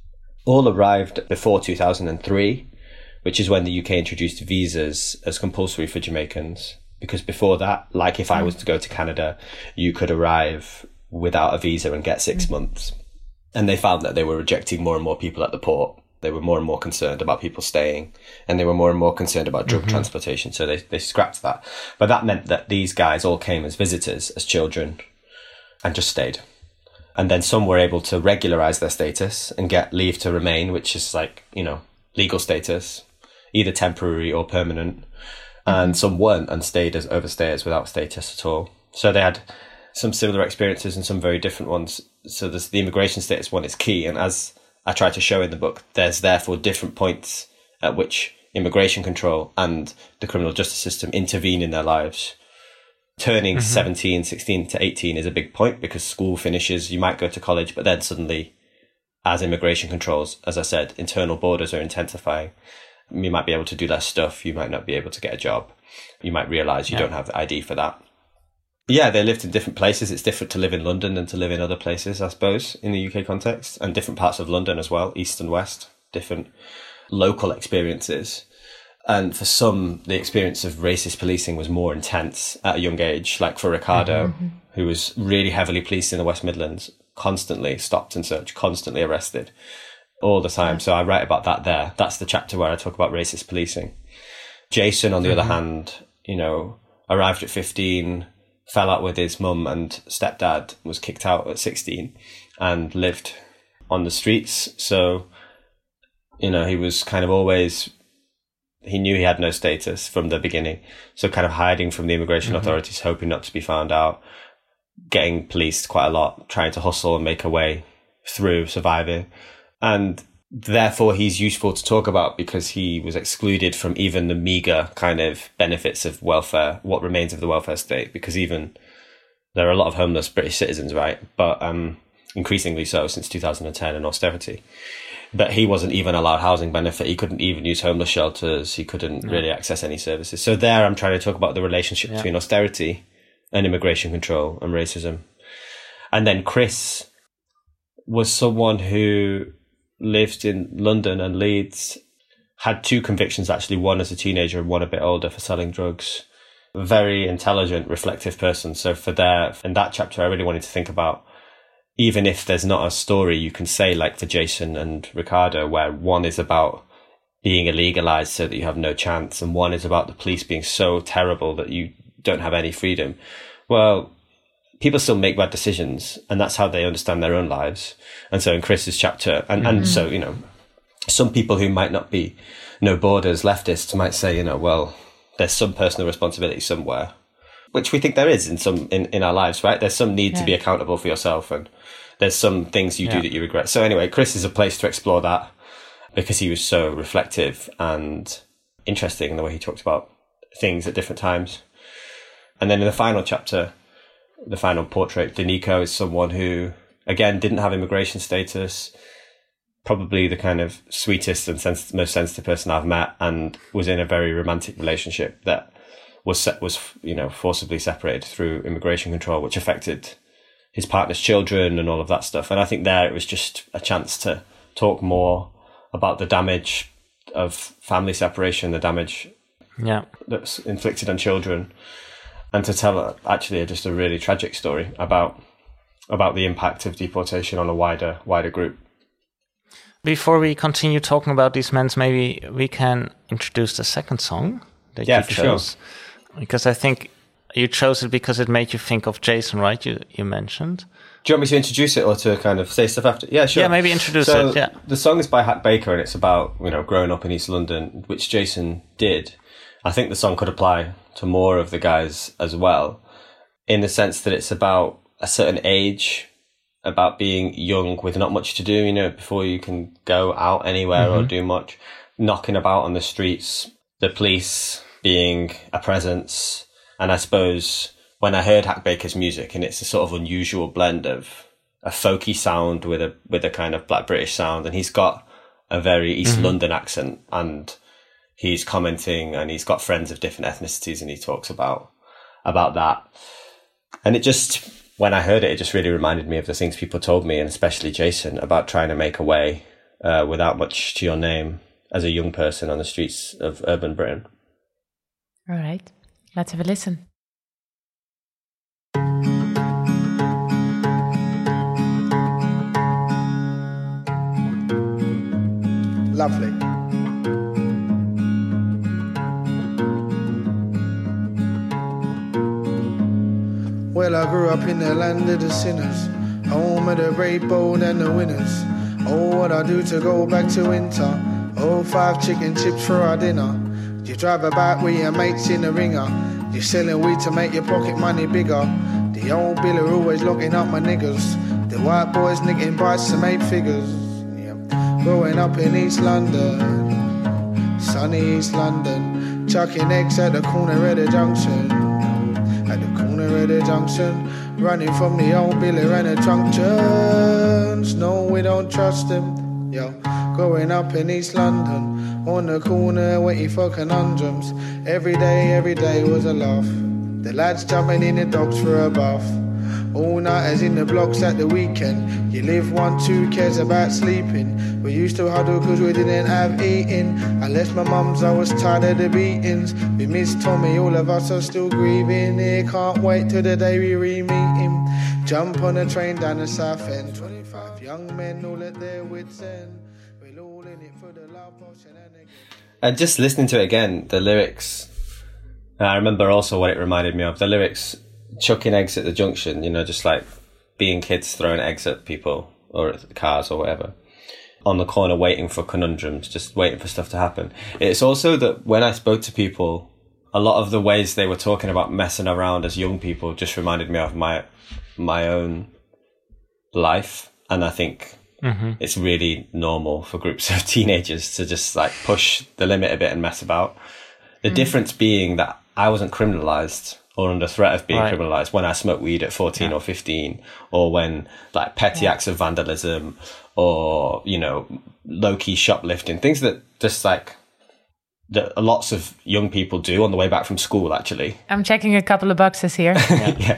All arrived before two thousand three, which is when the U K introduced visas as compulsory for Jamaicans. Because before that, like if I was to go to Canada, you could arrive without a visa and get six months. And they found that they were rejecting more and more people at the port. They were more and more concerned about people staying, and they were more and more concerned about drug mm-hmm. transportation. So they, they scrapped that. But that meant that these guys all came as visitors, as children, and just stayed. And then some were able to regularize their status and get leave to remain, which is like, you know, legal status, either temporary or permanent. And some weren't and stayed as overstayers without status at all. So they had some similar experiences and some very different ones. So this, the immigration status one is key. And as I try to show in the book, there's therefore different points at which immigration control and the criminal justice system intervene in their lives. Turning mm-hmm. seventeen, sixteen to eighteen is a big point, because school finishes, you might go to college, but then suddenly, as immigration controls, as I said, internal borders are intensifying. You might be able to do less stuff. You might not be able to get a job. You might realise you yeah. don't have the I D for that. Yeah, they lived in different places. It's different to live in London than to live in other places, I suppose, in the U K context, and different parts of London as well, east and west, different local experiences. And for some, the experience of racist policing was more intense at a young age, like for Ricardo, mm-hmm. who was really heavily policed in the West Midlands, constantly stopped and searched, constantly arrested. All the time. So I write about that there. That's the chapter where I talk about racist policing. Jason, on the mm-hmm. other hand, you know, arrived at fifteen, fell out with his mum and stepdad, was kicked out at sixteen, and lived on the streets. So, you know, he was kind of always, he knew he had no status from the beginning. So kind of hiding from the immigration mm-hmm. authorities, hoping not to be found out, getting policed quite a lot, trying to hustle and make a way through, surviving. And therefore, he's useful to talk about because he was excluded from even the meager kind of benefits of welfare, what remains of the welfare state, because even there are a lot of homeless British citizens, right? But um, increasingly so since two thousand ten and austerity. But he wasn't even allowed housing benefit. He couldn't even use homeless shelters. He couldn't no. really access any services. So there, I'm trying to talk about the relationship yeah. between austerity and immigration control and racism. And then Chris was someone who lived in London and Leeds, had two convictions, actually, one as a teenager and one a bit older, for selling drugs. Very intelligent, reflective person. So for there, in that chapter, I really wanted to think about, even if there's not a story you can say, like for Jason and Ricardo, where one is about being illegalized so that you have no chance, and one is about the police being so terrible that you don't have any freedom. Well, people still make bad decisions, and that's how they understand their own lives. And so in Chris's chapter, and, mm-hmm. and so, you know, some people who might not be no borders leftists might say, you know, well, there's some personal responsibility somewhere. which we think there is in some in, in our lives, right? There's some need yeah. to be accountable for yourself, and there's some things you yeah. do that you regret. So anyway, Chris is a place to explore that, because he was so reflective and interesting in the way he talked about things at different times. And then in the final chapter, the final portrait, Daniko is someone who, again, didn't have immigration status, probably the kind of sweetest and sens- most sensitive person I've met, and was in a very romantic relationship that was se- was you know forcibly separated through immigration control, which affected his partner's children and all of that stuff. And I think there it was just a chance to talk more about the damage of family separation, the damage yeah. that's inflicted on children, and to tell actually just a really tragic story about about the impact of deportation on a wider wider group. Before we continue talking about these men, maybe we can introduce the second song that yeah, you for chose. Sure. Because I think you chose it because it made you think of Jason, right? You you mentioned. Do you want me to introduce it or to kind of say stuff after? Yeah, sure. Yeah, maybe introduce so it, yeah. The song is by Hack Baker, and it's about, you know, growing up in East London, which Jason did. I think the song could apply to more of the guys as well, in the sense that it's about a certain age, about being young with not much to do, you know, before you can go out anywhere mm-hmm. or do much, knocking about on the streets, the police being a presence. And I suppose when I heard Hack Baker's music, and it's a sort of unusual blend of a folky sound with a with a kind of Black British sound, and he's got a very East mm-hmm. London accent, and he's commenting, and he's got friends of different ethnicities, and he talks about about that. And it just, when I heard it, it just really reminded me of the things people told me, and especially Jason, about trying to make a way uh, without much to your name as a young person on the streets of urban Britain. All right, let's have a listen. Lovely. Well, I grew up in the land of the sinners, home of the brave, bold and the winners. Oh, what I do to go back to winter. Oh, five chicken chips for our dinner. You drive about with your mates in the ringer. You're selling weed to make your pocket money bigger. The old biller always locking up my niggas. The white boys nicking bites to make figures. Yeah. Growing up in East London, sunny East London, chucking eggs at the corner of the junction. At the corner of the junction, running from the old biller and the junctions. No, we don't trust them. Yo, growing up in East London, on the corner waiting for conundrums. Every day, every day was a laugh. The lads jumping in the docks for a bath. All nighters in the blocks at the weekend. You live one, two cares about sleeping. We used to huddle cause we didn't have eating. I left my mum's, I was tired of the beatings. We miss Tommy, all of us are still grieving. Here, can't wait till the day we re-meet him. Jump on a train down the south end. twenty-five young men all at their wits' end. We're all in it for the love potion and again. And just listening to it again, the lyrics, I remember also what it reminded me of. The lyrics, chucking eggs at the junction, you know, just like being kids throwing eggs at people or at cars or whatever. On the corner waiting for conundrums, just waiting for stuff to happen. It's also that when I spoke to people, a lot of the ways they were talking about messing around as young people just reminded me of my my own life. And I think mm-hmm. it's really normal for groups of teenagers to just like push the limit a bit and mess about. The mm. difference being that I wasn't criminalized or under threat of being right. criminalized when I smoked weed at fourteen yeah. or fifteen, or when like petty yeah. acts of vandalism or, you know, low-key shoplifting, things that just like that lots of young people do on the way back from school, actually. I'm checking a couple of boxes here. yeah.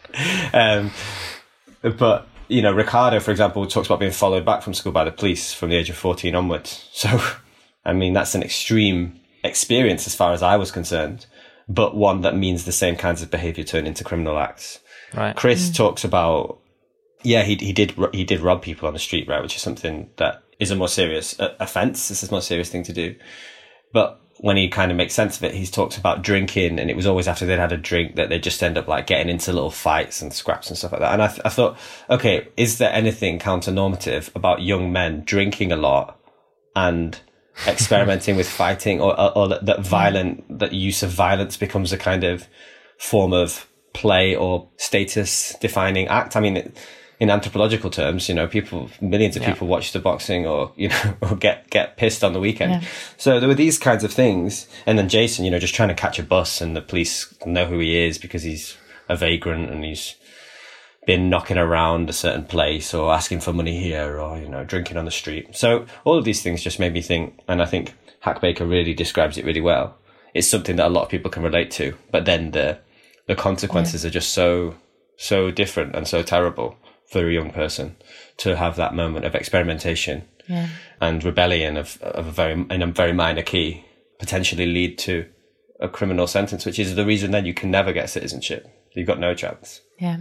Um, but, you know, Ricardo, for example, talks about being followed back from school by the police from the age of fourteen onwards. So, I mean, that's an extreme experience as far as I was concerned, but one that means the same kinds of behaviour turn into criminal acts. Right. Chris mm. talks about, yeah, he he did he did rob people on the street, right, which is something that is a more serious uh, offence. This is a more serious thing to do. But when he kind of makes sense of it, he talks about drinking, and it was always after they'd had a drink that they just end up like getting into little fights and scraps and stuff like that. And I, th- I thought, okay, is there anything counter-normative about young men drinking a lot and experimenting with fighting, or, or, or that, that violent, that use of violence becomes a kind of form of play or status defining act. I mean, it, in anthropological terms, you know, people, millions of yeah. people watch the boxing or, you know, or get, get pissed on the weekend. Yeah. So there were these kinds of things. And then Jason, you know, just trying to catch a bus and the police know who he is because he's a vagrant and he's been knocking around a certain place or asking for money here or, you know, drinking on the street. So all of these things just made me think, and I think Hack Baker really describes it really well. It's something that a lot of people can relate to, but then the, the consequences yeah. are just so, so different and so terrible for a young person to have that moment of experimentation yeah. and rebellion of, of a very, in a very minor key, potentially lead to a criminal sentence, which is the reason then you can never get citizenship. You've got no chance. Yeah.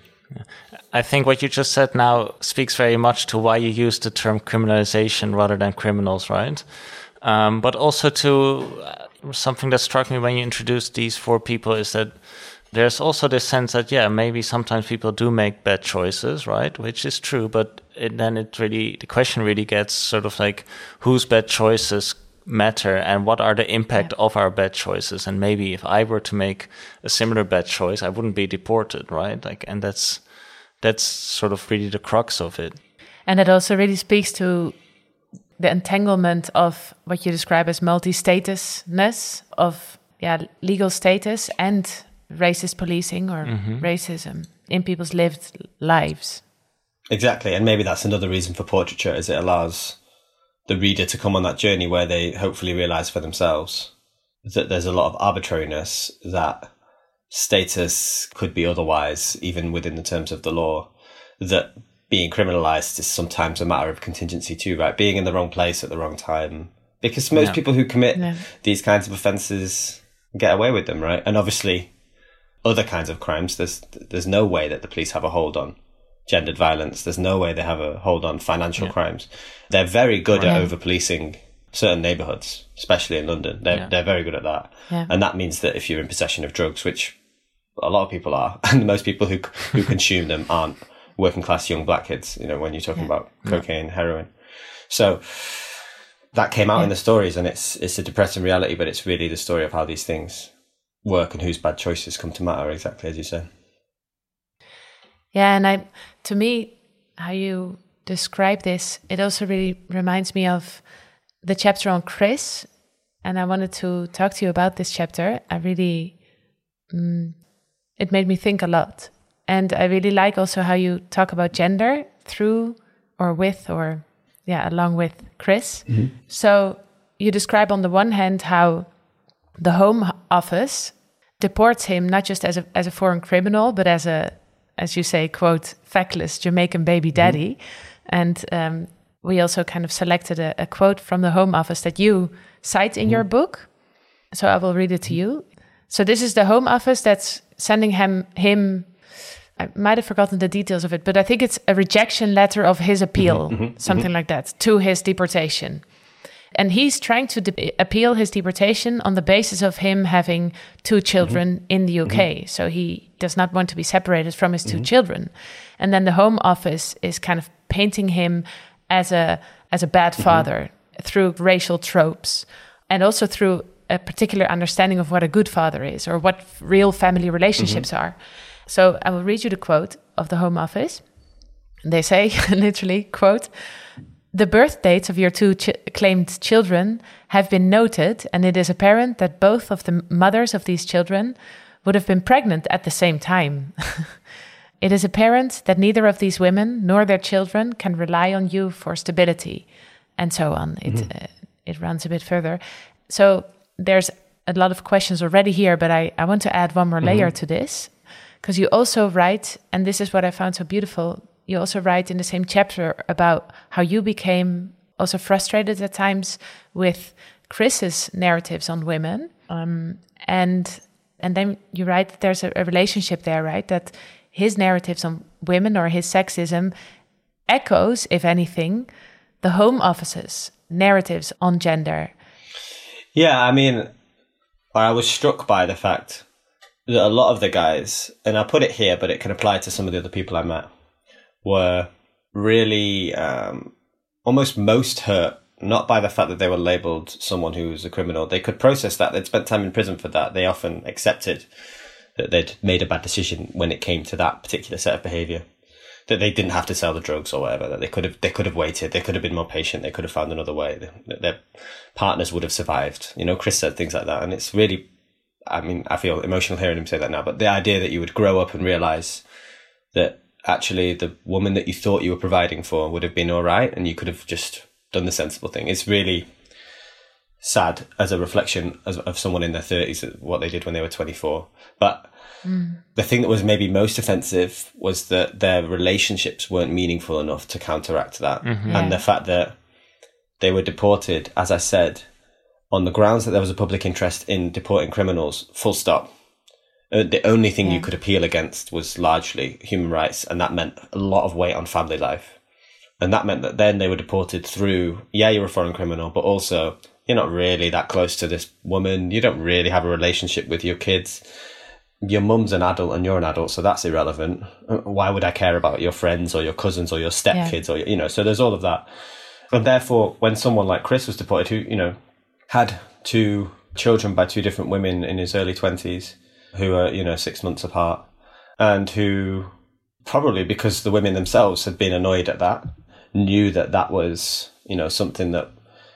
I think what you just said now speaks very much to why you use the term criminalization rather than criminals, right? Um, but also to uh, something that struck me when you introduced these four people is that there's also this sense that, yeah, maybe sometimes people do make bad choices, right? Which is true, but it, then it really, the question really gets sort of like whose bad choices matter and what are the impact yeah. of our bad choices. And maybe if I were to make a similar bad choice, I wouldn't be deported, right? Like, and that's, that's sort of really the crux of it. And it also really speaks to the entanglement of what you describe as multi-statusness of, yeah, legal status and racist policing or mm-hmm. racism in people's lived lives. Exactly. And maybe that's another reason for portraiture, is it allows the reader to come on that journey where they hopefully realize for themselves that there's a lot of arbitrariness, that status could be otherwise, even within the terms of the law, that being criminalized is sometimes a matter of contingency too, right? Being in the wrong place at the wrong time. Because most yeah. people who commit yeah. these kinds of offences get away with them, right? And obviously other kinds of crimes, there's there's no way that the police have a hold on gendered violence. There's no way they have a hold on financial yeah. crimes. They're very good right. at over-policing certain neighbourhoods, especially in London. They're, yeah. they're very good at that. Yeah. And that means that if you're in possession of drugs, which a lot of people are, and most people who who consume them aren't working class young black kids, you know, when you're talking yeah. about cocaine, yeah. heroin. So that came out yeah. in the stories, and it's it's a depressing reality, but it's really the story of how these things work and whose bad choices come to matter, exactly as you said. Yeah, and I, to me, how you describe this, it also really reminds me of the chapter on Chris, and I wanted to talk to you about this chapter. I really, um, it made me think a lot. And I really like also how you talk about gender through or with or, yeah, along with Chris. Mm-hmm. So you describe on the one hand how the Home Office deports him not just as a as a foreign criminal, but as a, as you say, quote, feckless Jamaican baby daddy. Mm-hmm. And um, we also kind of selected a, a quote from the Home Office that you cite in mm-hmm. your book. So I will read it to you. So this is the Home Office that's sending him, him I might have forgotten the details of it, but I think it's a rejection letter of his appeal, mm-hmm, mm-hmm, something mm-hmm. like that, to his deportation. And he's trying to de- appeal his deportation on the basis of him having two children mm-hmm. in the U K. Mm-hmm. So he does not want to be separated from his two mm-hmm. children. And then the Home Office is kind of painting him as a as a bad father mm-hmm. through racial tropes, and also through a particular understanding of what a good father is or what real family relationships mm-hmm. are. So I will read you the quote of the Home Office. They say, literally, quote, "The birth dates of your two ch- claimed children have been noted, and it is apparent that both of the mothers of these children would have been pregnant at the same time. It is apparent that neither of these women nor their children can rely on you for stability," and so on. It mm-hmm. uh, it runs a bit further. So there's a lot of questions already here, but I, I want to add one more layer mm-hmm. to this. Because you also write, and this is what I found so beautiful, you also write in the same chapter about how you became also frustrated at times with Chris's narratives on women. Um, and and then you write that there's a, a relationship there, right? That his narratives on women or his sexism echoes, if anything, the Home Office's narratives on gender. Yeah, I mean, I was struck by the fact that a lot of the guys, and I put it here, but it can apply to some of the other people I met, were really um, almost most hurt, not by the fact that they were labelled someone who was a criminal. They could process that. They'd spent time in prison for that. They often accepted that they'd made a bad decision when it came to that particular set of behaviour. That they didn't have to sell the drugs or whatever, that they could have they could have waited, they could have been more patient, they could have found another way, that their partners would have survived. You know, Chris said things like that, and it's really, I mean, I feel emotional hearing him say that now, but the idea that you would grow up and realise that actually the woman that you thought you were providing for would have been all right, and you could have just done the sensible thing. It's really sad as a reflection of, of someone in their thirties, what they did when they were twenty-four. But mm. the thing that was maybe most offensive was that their relationships weren't meaningful enough to counteract that. Mm-hmm. And yeah. the fact that they were deported, as I said, on the grounds that there was a public interest in deporting criminals, full stop. Uh, the only thing yeah. you could appeal against was largely human rights, and that meant a lot of weight on family life. And that meant that then they were deported through, yeah, you're a foreign criminal, but also you're not really that close to this woman. You don't really have a relationship with your kids. Your mum's an adult and you're an adult, so that's irrelevant. Why would I care about your friends or your cousins or your stepkids yeah. or, you know, so there's all of that. And therefore, when someone like Chris was deported, who, you know, had two children by two different women in his early twenties, who are, you know, six months apart, and who probably because the women themselves had been annoyed at that, knew that that was, you know, something that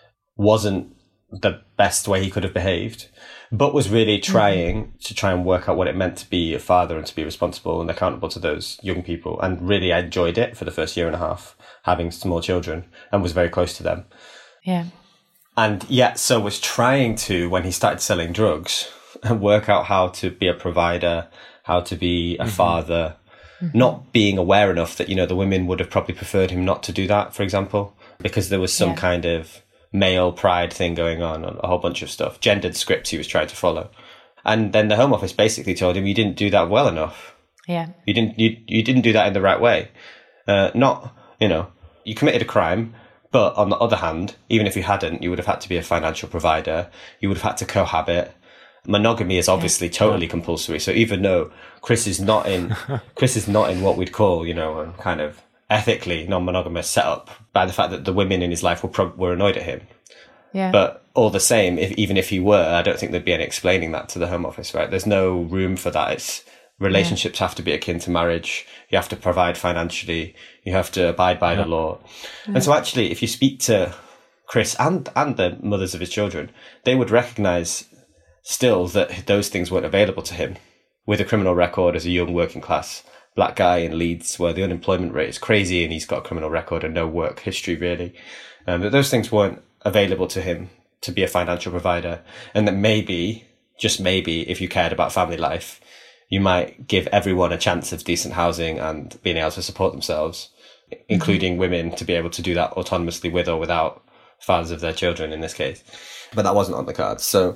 wasn't the best way he could have behaved, but was really trying mm-hmm. to try and work out what it meant to be a father and to be responsible and accountable to those young people, and really enjoyed it for the first year and a half, having small children, and was very close to them. Yeah. And yet, so was trying to, when he started selling drugs, and work out how to be a provider, how to be a mm-hmm. father, mm-hmm. not being aware enough that, you know, the women would have probably preferred him not to do that, for example, because there was some yeah. kind of male pride thing going on, a whole bunch of stuff, gendered scripts he was trying to follow. And then the Home Office basically told him, you didn't do that well enough. Yeah. You didn't, you, you didn't do that in the right way. Uh, not, you know, you committed a crime, but on the other hand, even if you hadn't, you would have had to be a financial provider. You would have had to cohabit. Monogamy is obviously yeah. totally compulsory. So even though Chris is not in, Chris is not in what we'd call, you know, a kind of ethically non-monogamous setup, by the fact that the women in his life were pro- were annoyed at him. Yeah. But all the same, if, even if he were, I don't think there'd be any explaining that to the Home Office, right? There's no room for that. It's relationships yeah. have to be akin to marriage. You have to provide financially. You have to abide by yeah. the law. Yeah. And so actually, if you speak to Chris and, and the mothers of his children, they would recognise still that those things weren't available to him. With a criminal record as a young working class black guy in Leeds, where the unemployment rate is crazy and he's got a criminal record and no work history really, um, that those things weren't available to him to be a financial provider. And that maybe, just maybe, if you cared about family life, you might give everyone a chance of decent housing and being able to support themselves, mm-hmm. including women, to be able to do that autonomously with or without fathers of their children in this case. But that wasn't on the cards. So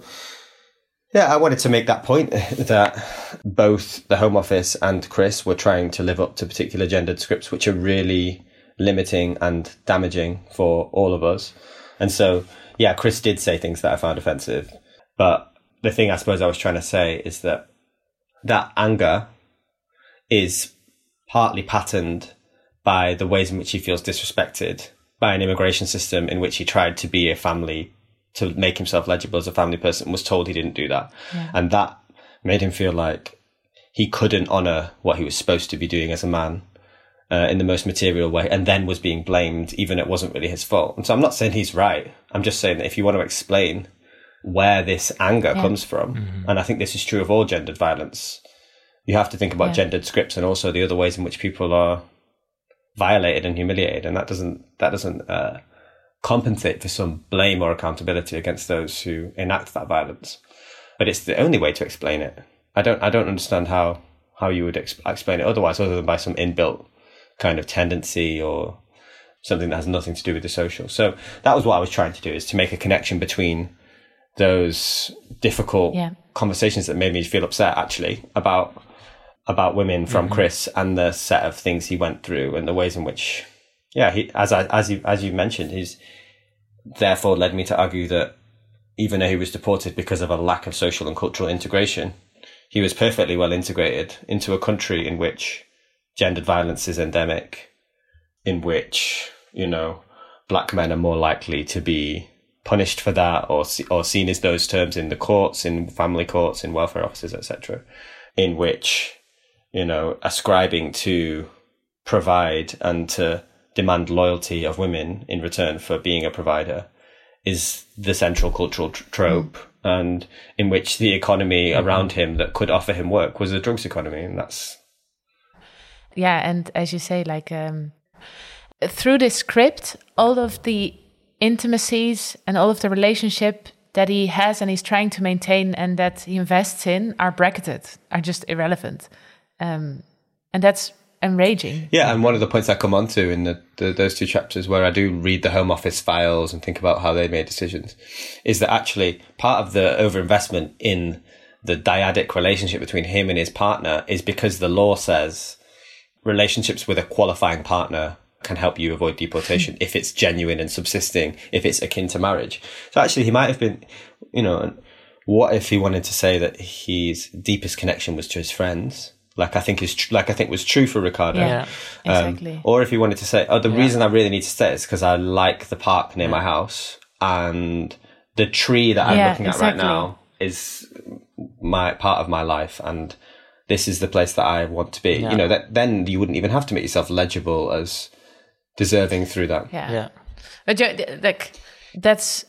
yeah, I wanted to make that point that both the Home Office and Chris were trying to live up to particular gendered scripts, which are really limiting and damaging for all of us. And so, yeah, Chris did say things that I found offensive. But the thing I suppose I was trying to say is that that anger is partly patterned by the ways in which he feels disrespected by an immigration system in which he tried to be a family, to make himself legible as a family person, was told he didn't do that. Yeah. And that made him feel like he couldn't honour what he was supposed to be doing as a man uh, in the most material way, and then was being blamed, even it wasn't really his fault. And so I'm not saying he's right. I'm just saying that if you want to explain where this anger yeah. comes from, mm-hmm. and I think this is true of all gendered violence, you have to think about yeah. gendered scripts and also the other ways in which people are violated and humiliated. And that doesn't, that doesn't, uh, compensate for some blame or accountability against those who enact that violence. But it's the only way to explain it. I don't I don't understand how, how you would ex- explain it otherwise, other than by some inbuilt kind of tendency or something that has nothing to do with the social. So that was what I was trying to do, is to make a connection between those difficult yeah. conversations that made me feel upset, actually, about about women from mm-hmm. Chris, and the set of things he went through and the ways in which, yeah, he, as I, as you, as you mentioned, he's therefore led me to argue that even though he was deported because of a lack of social and cultural integration, he was perfectly well integrated into a country in which gendered violence is endemic, in which, you know, black men are more likely to be punished for that or or seen as those terms in the courts, in family courts, in welfare offices, et cetera, in which, you know, ascribing to provide and to demand loyalty of women in return for being a provider is the central cultural tr- trope, mm. and in which the economy mm-hmm. around him that could offer him work was a drugs economy, and that's... Yeah, and as you say, like, um, through this script, all of the intimacies and all of the relationship that he has and he's trying to maintain and that he invests in are bracketed, are just irrelevant. Um, and that's enraging. Yeah, and one of the points I come on to in the, the, those two chapters where I do read the Home Office files and think about how they made decisions is that actually part of the overinvestment in the dyadic relationship between him and his partner is because the law says relationships with a qualifying partner can help you avoid deportation if it's genuine and subsisting, if it's akin to marriage. So actually he might have been, you know, what if he wanted to say that his deepest connection was to his friends? Like I think is tr- like I think was true for Ricardo. Yeah, exactly. Um, or if he wanted to say, oh, the yeah. reason I really need to stay is because I like the park near yeah. my house, and the tree that I'm yeah, looking at exactly. right now is my part of my life, and this is the place that I want to be. Yeah. You know, that then you wouldn't even have to make yourself legible as deserving through that. Yeah, yeah. But like that's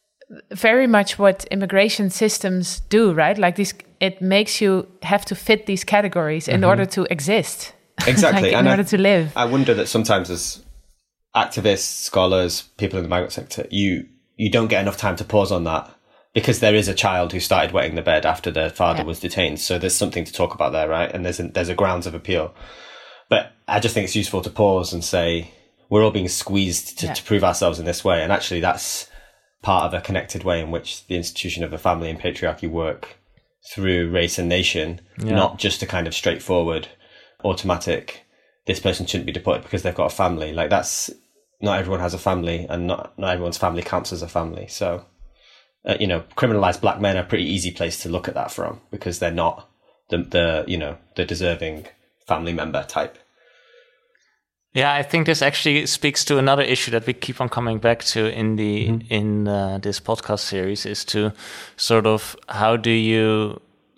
very much what immigration systems do, right? Like this, it makes you have to fit these categories in mm-hmm. order to exist. Exactly. like in and order I, to live. I wonder that sometimes as activists, scholars, people in the migrant sector, you you don't get enough time to pause on that because there is a child who started wetting the bed after their father yeah. was detained. So there's something to talk about there, right? And there's a, there's a grounds of appeal. But I just think it's useful to pause and say, we're all being squeezed to, yeah. to prove ourselves in this way. And actually that's part of a connected way in which the institution of the family and patriarchy work through race and nation, yeah. not just a kind of straightforward, automatic, this person shouldn't be deported because they've got a family. Like that's, not everyone has a family, and not, not everyone's family counts as a family. So, uh, you know, criminalized black men are a pretty easy place to look at that from because they're not the, the you know, the deserving family member type. Yeah, I think this actually speaks to another issue that we keep on coming back to in the mm-hmm. in uh, this podcast series, is to sort of how do you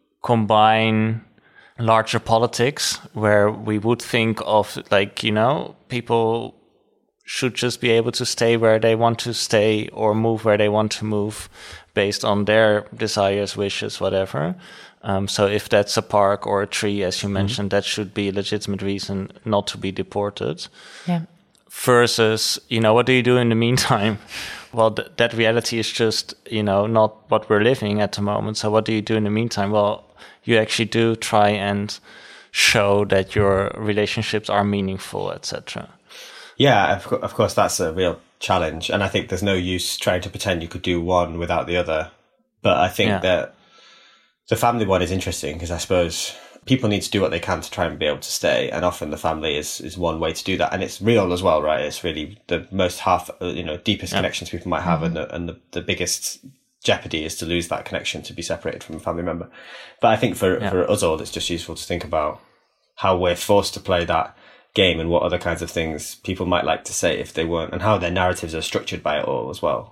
combine larger politics where we would think of like, you know, people should just be able to stay where they want to stay or move where they want to move based on their desires, wishes, whatever. Um, so if that's a park or a tree, as you mentioned, mm-hmm. that should be a legitimate reason not to be deported. Yeah. Versus, you know, what do you do in the meantime? Well, th- that reality is just, you know, not what we're living at the moment. So what do you do in the meantime? Well, you actually do try and show that your relationships are meaningful, et cetera. Yeah, of, co- of course, that's a real challenge. And I think there's no use trying to pretend you could do one without the other. But I think yeah. that the family one is interesting because I suppose people need to do what they can to try and be able to stay. And often the family is, is one way to do that. And it's real as well, right? It's really the most half, you know, deepest yeah. connections people might have. Mm-hmm. And, the, and the, the biggest jeopardy is to lose that connection, to be separated from a family member. But I think for, yeah. for us all, it's just useful to think about how we're forced to play that game and what other kinds of things people might like to say if they weren't, and how their narratives are structured by it all as well.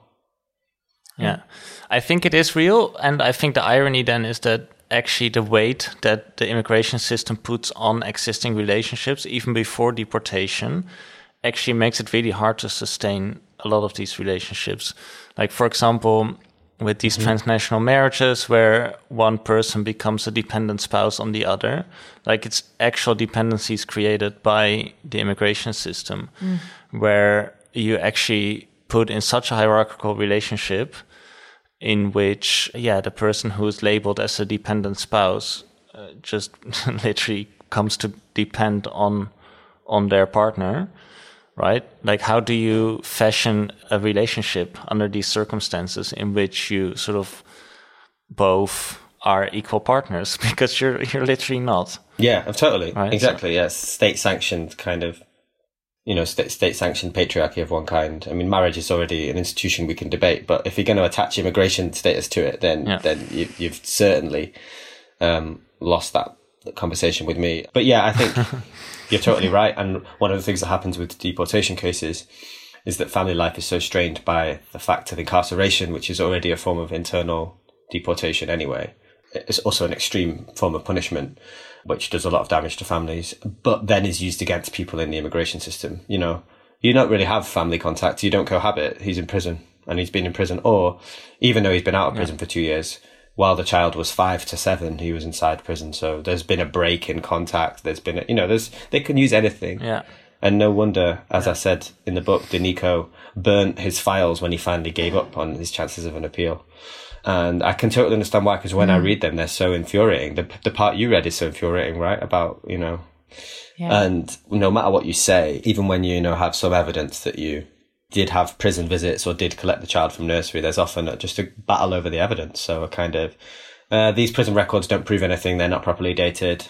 Yeah, I think it is real. And I think the irony then is that actually the weight that the immigration system puts on existing relationships, even before deportation, actually makes it really hard to sustain a lot of these relationships. Like, for example, with these mm-hmm. transnational marriages where one person becomes a dependent spouse on the other, like it's actual dependencies created by the immigration system, mm. where you actually put in such a hierarchical relationship in which, yeah, the person who is labeled as a dependent spouse uh, just literally comes to depend on on their partner, right? Like, how do you fashion a relationship under these circumstances in which you sort of both are equal partners? Because you're you're literally not. Yeah, totally. Right? Exactly, so, yes. State-sanctioned kind of, you know, state, state-sanctioned patriarchy of one kind. I mean, marriage is already an institution we can debate, but if you're going to attach immigration status to it, then yeah. then you, you've certainly um, lost that conversation with me. But yeah, I think you're totally right. And one of the things that happens with deportation cases is that family life is so strained by the fact of incarceration, which is already a form of internal deportation anyway. It's also an extreme form of punishment, which does a lot of damage to families, but then is used against people in the immigration system. You know, you don't really have family contact. You don't cohabit. He's in prison and he's been in prison. Or even though he's been out of prison yeah. for two years, while the child was five to seven, he was inside prison. So there's been a break in contact. There's been, a, you know, there's, they can use anything. Yeah. And no wonder, as yeah. I said in the book, Danico burnt his files when he finally gave up on his chances of an appeal. And I can totally understand why, because when mm. I read them, they're so infuriating. The the part you read is so infuriating, right? About, you know, yeah. and no matter what you say, even when you, you know, have some evidence that you did have prison visits or did collect the child from nursery, there's often just a battle over the evidence. So a kind of, uh, these prison records don't prove anything. They're not properly dated.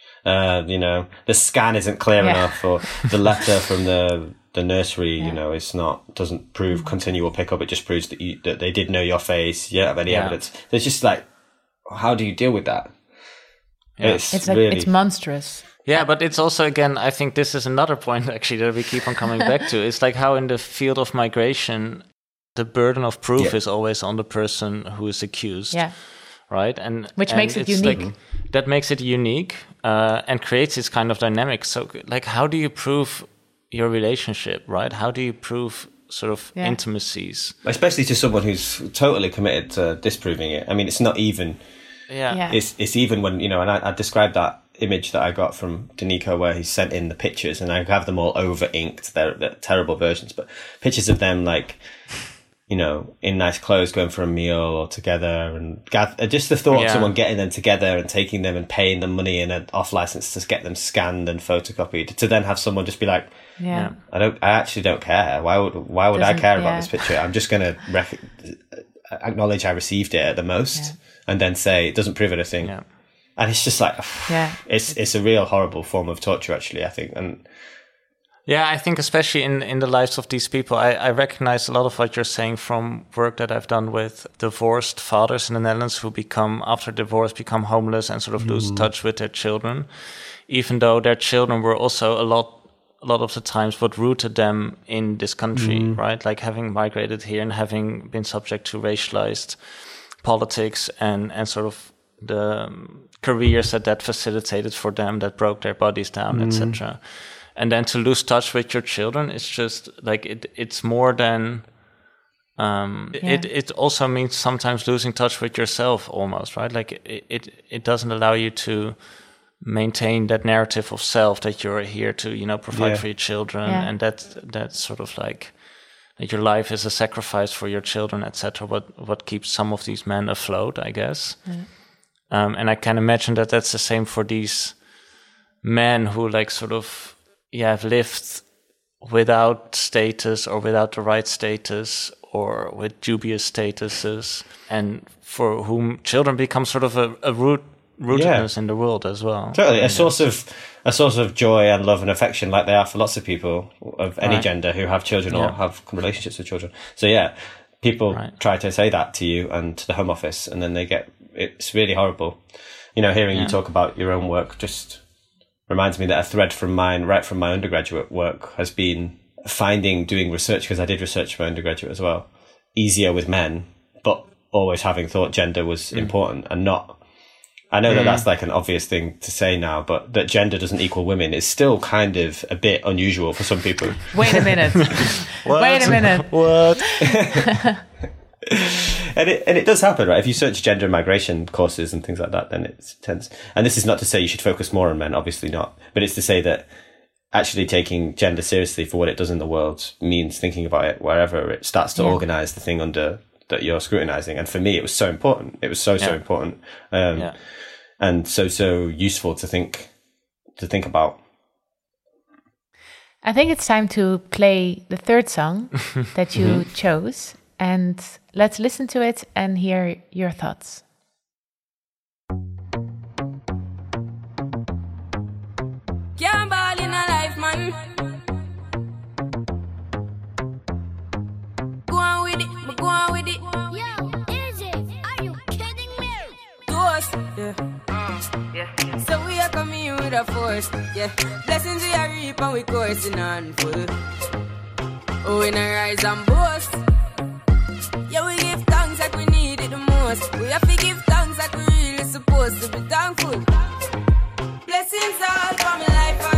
Uh, you know, the scan isn't clear yeah. enough, or the letter from the the nursery, yeah. you know, it's not, doesn't prove continual pickup. It just proves that you, that they did know your face. You don't have any yeah. evidence. It's just like, how do you deal with that? Yeah. It's, it's like, really, it's monstrous. Yeah, but it's also, again, I think this is another point actually that we keep on coming back to. It's like how in the field of migration, the burden of proof yeah. is always on the person who is accused. Yeah. Right? And Which and makes it unique. Like, that makes it unique uh, and creates this kind of dynamic. So, like, how do you prove your relationship, right? How do you prove sort of yeah. intimacies? Especially to someone who's totally committed to disproving it. I mean, it's not even... Yeah. yeah. It's it's even when, you know, and I, I described that image that I got from Danico where he sent in the pictures, and I have them all over inked. They're, they're terrible versions, but pictures of them like, you know, in nice clothes going for a meal or together, and gather, just the thought yeah. of someone getting them together and taking them and paying them money in an off license to get them scanned and photocopied, to then have someone just be like, yeah, I don't, I actually don't care. Why would, why would Doesn't, I care yeah. about this picture? I'm just going to rec- acknowledge I received it at the most yeah. and then say it doesn't prove anything. Yeah. And it's just like, yeah. it's, it's a real horrible form of torture, actually, I think. And yeah, I think especially in, in the lives of these people, I, I recognize a lot of what you're saying from work that I've done with divorced fathers in the Netherlands who become, after divorce, become homeless and sort of mm. lose touch with their children, even though their children were also a lot, a lot of the times what rooted them in this country, mm. right? Like having migrated here and having been subject to racialized politics and, and sort of the um, careers that that facilitated for them, that broke their bodies down, mm. et cetera. And then to lose touch with your children, it's just like it. It's more than. Um, yeah. It it also means sometimes losing touch with yourself, almost, right? Like it it, it doesn't allow you to maintain that narrative of self that you're here to, you know, provide yeah. for your children, yeah. and that that's sort of like that your life is a sacrifice for your children, et cetera. What what keeps some of these men afloat, I guess. Yeah. Um, and I can imagine that that's the same for these men who like sort of. Yeah, have lived without status or without the right status or with dubious statuses, and for whom children become sort of a, a root rootedness yeah. in the world as well. Totally, a source of a source of joy and love and affection, like they are for lots of people of any right. gender who have children yeah. or have relationships with children. So yeah, people right. try to say that to you and to the Home Office, and then they get it's really horrible. You know, hearing yeah. you talk about your own work just reminds me that a thread from mine, right from my undergraduate work, has been finding, doing research, because I did research for my undergraduate as well, easier with men, but always having thought gender was mm. important and not, I know mm. that that's like an obvious thing to say now, but that gender doesn't equal women is still kind of a bit unusual for some people. Wait a minute. Wait a minute. What? And it and it does happen, right? If you search gender and migration courses and things like that, then it tends. And this is not to say you should focus more on men, obviously not. But it's to say that actually taking gender seriously for what it does in the world means thinking about it wherever it starts to yeah. organize the thing under that you're scrutinizing. And for me, it was so important. It was so yeah. so important, um, yeah. and so so useful to think to think about. I think it's time to play the third song that you mm-hmm. chose. And let's listen to it and hear your thoughts. Can't ball in a life, man. Go on with it, but go on with it. Yo, is it? Are you kidding me? To us, yeah. Mm, yeah. So we are coming in with a force, yeah. Blessings we are reap and we coursing on full. Oh, we not rise and boast. Yeah, we give thanks like we need it the most. We have to give thanks like we really supposed to be thankful. Blessings all for my life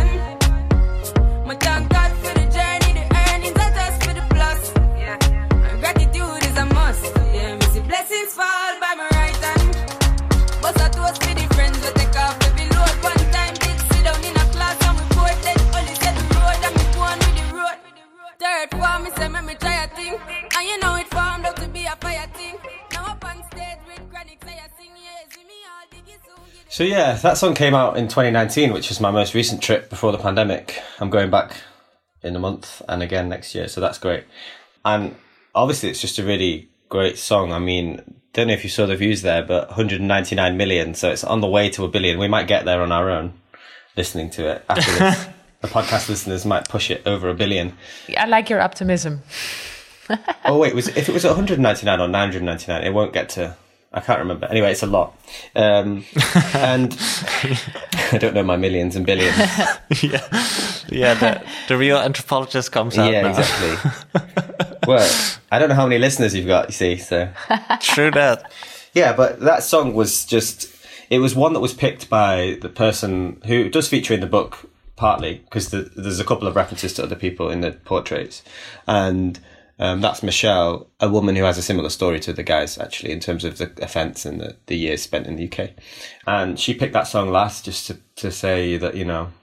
and my thank God for the journey, the earnings are just for the plus. Yeah, and gratitude is a must. Yeah, me see blessings fall by my right hand. But I toast for the friends we take off every load. One time did sit down in a class and we both then only said the road and me go on with the road. Third form, me say me me try a thing, and you know it formed up to be a fire thing. Now up on stage with chronic say I sing, yeah, see me all diggy soon. So yeah, that song came out in twenty nineteen, which is my most recent trip before the pandemic. I'm going back in a month and again next year, so that's great. And obviously it's just a really great song. I mean, don't know if you saw the views there, but one hundred ninety-nine million, so it's on the way to a billion. We might get there on our own listening to it after this. The podcast listeners might push it over a billion. I like your optimism. Oh wait, was if it was one hundred ninety-nine or nine hundred ninety-nine, it won't get to. I can't remember. Anyway, it's a lot, um, and I don't know my millions and billions. yeah, yeah. The, the real anthropologist comes out. Yeah, now. exactly. Well, I don't know how many listeners you've got. You see, so true that. Yeah, but that song was just. It was one that was picked by the person who does feature in the book. Partly because the, there's a couple of references to other people in the portraits, and um, that's Michelle, a woman who has a similar story to the guys actually in terms of the offence and the, the years spent in the U K. And she picked that song last just to, to say that, you know,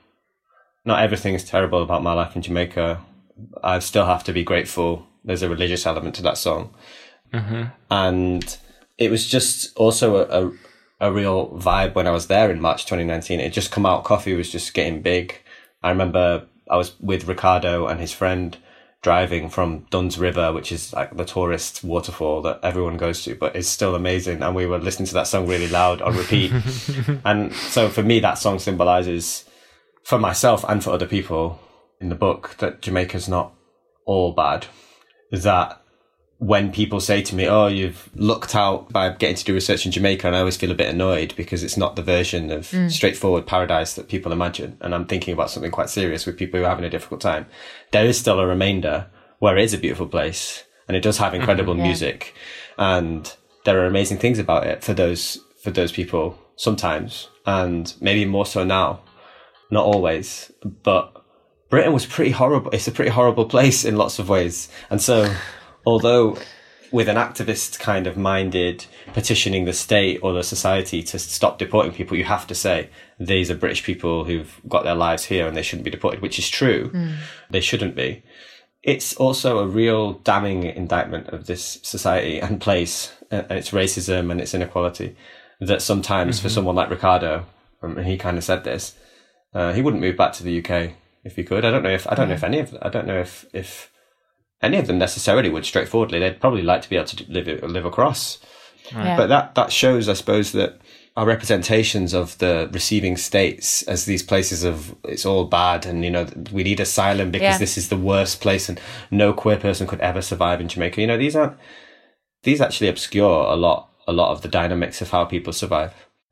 not everything is terrible about my life in Jamaica. I still have to be grateful. There's a religious element to that song. Mm-hmm. And it was just also a, a, a real vibe when I was there in March twenty nineteen. It had just come out. Coffee was just getting big. I remember I was with Ricardo and his friend driving from Dunn's River, which is like the tourist waterfall that everyone goes to, but it's still amazing. And we were listening to that song really loud on repeat. And so for me, that song symbolizes for myself and for other people in the book that Jamaica's not all bad. Is that when people say to me, oh, you've looked out by getting to do research in Jamaica, and I always feel a bit annoyed because it's not the version of mm. straightforward paradise that people imagine. And I'm thinking about something quite serious with people who are having a difficult time. There is still a remainder where it is a beautiful place and it does have incredible mm-hmm, yeah. music. And there are amazing things about it for those, for those people sometimes, and maybe more so now, not always, but Britain was pretty horrible. It's a pretty horrible place in lots of ways. And so, although with an activist kind of minded petitioning the state or the society to stop deporting people, you have to say these are British people who've got their lives here and they shouldn't be deported, which is true. Mm. They shouldn't be. It's also a real damning indictment of this society and place and its racism and its inequality that sometimes mm-hmm. for someone like Ricardo, and he kind of said this, uh, he wouldn't move back to the U K if he could. I don't know if, I don't yeah. know if any of, I don't know if, if, any of them necessarily would straightforwardly. They'd probably like to be able to live live across. Yeah. But that, that shows, I suppose, that our representations of the receiving states as these places of it's all bad and, you know, we need asylum because yeah. this is the worst place and no queer person could ever survive in Jamaica. You know, these aren't, these actually obscure a lot, a lot of the dynamics of how people survive.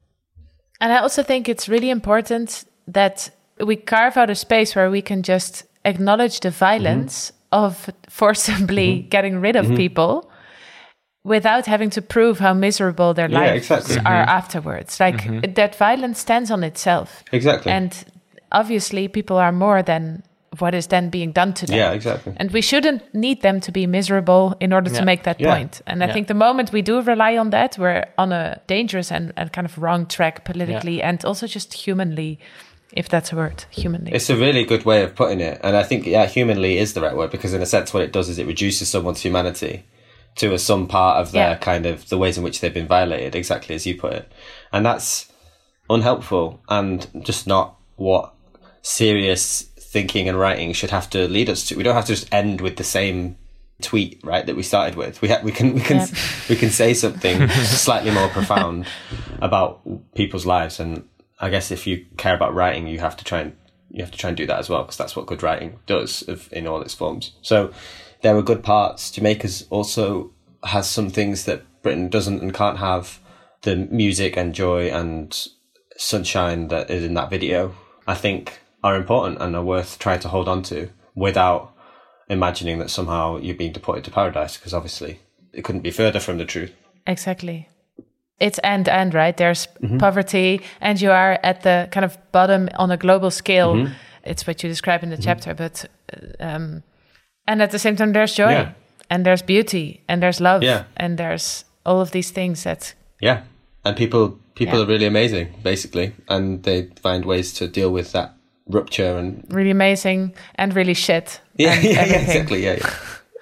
And I also think it's really important that we carve out a space where we can just acknowledge the violence mm-hmm. of forcibly mm-hmm. getting rid of mm-hmm. people without having to prove how miserable their yeah, lives exactly. are mm-hmm. afterwards. Like mm-hmm. that violence stands on itself. Exactly. And obviously people are more than what is then being done to them. Yeah, exactly. And we shouldn't need them to be miserable in order yeah. to make that yeah. point. And I yeah. think the moment we do rely on that, we're on a dangerous and, and kind of wrong track politically yeah. and also just humanly. If that's a word, humanly. It's a really good way of putting it. And I think, yeah, humanly is the right word because in a sense what it does is it reduces someone's humanity to a, some part of their yeah. kind of the ways in which they've been violated, exactly as you put it. And that's unhelpful and just not what serious thinking and writing should have to lead us to. We don't have to just end with the same tweet, right, that we started with. We ha- we can we can yep. we can say something slightly more profound about people's lives. And I guess if you care about writing, you have to try and you have to try and do that as well, because that's what good writing does of, in all its forms. So there are good parts. Jamaica's also has some things that Britain doesn't and can't have. The music and joy and sunshine that is in that video, I think, are important and are worth trying to hold on to without imagining that somehow you're being deported to paradise, because obviously it couldn't be further from the truth. Exactly. It's end end, right? There's Mm-hmm. poverty, and you are at the kind of bottom on a global scale. Mm-hmm. It's what you describe in the chapter, but um, and at the same time, there's joy, Yeah. and there's beauty, and there's love, Yeah. and there's all of these things that Yeah. And people people Yeah. are really amazing, basically, and they find ways to deal with that rupture and really amazing and really shit. yeah, and yeah, yeah, everything. exactly, yeah, yeah.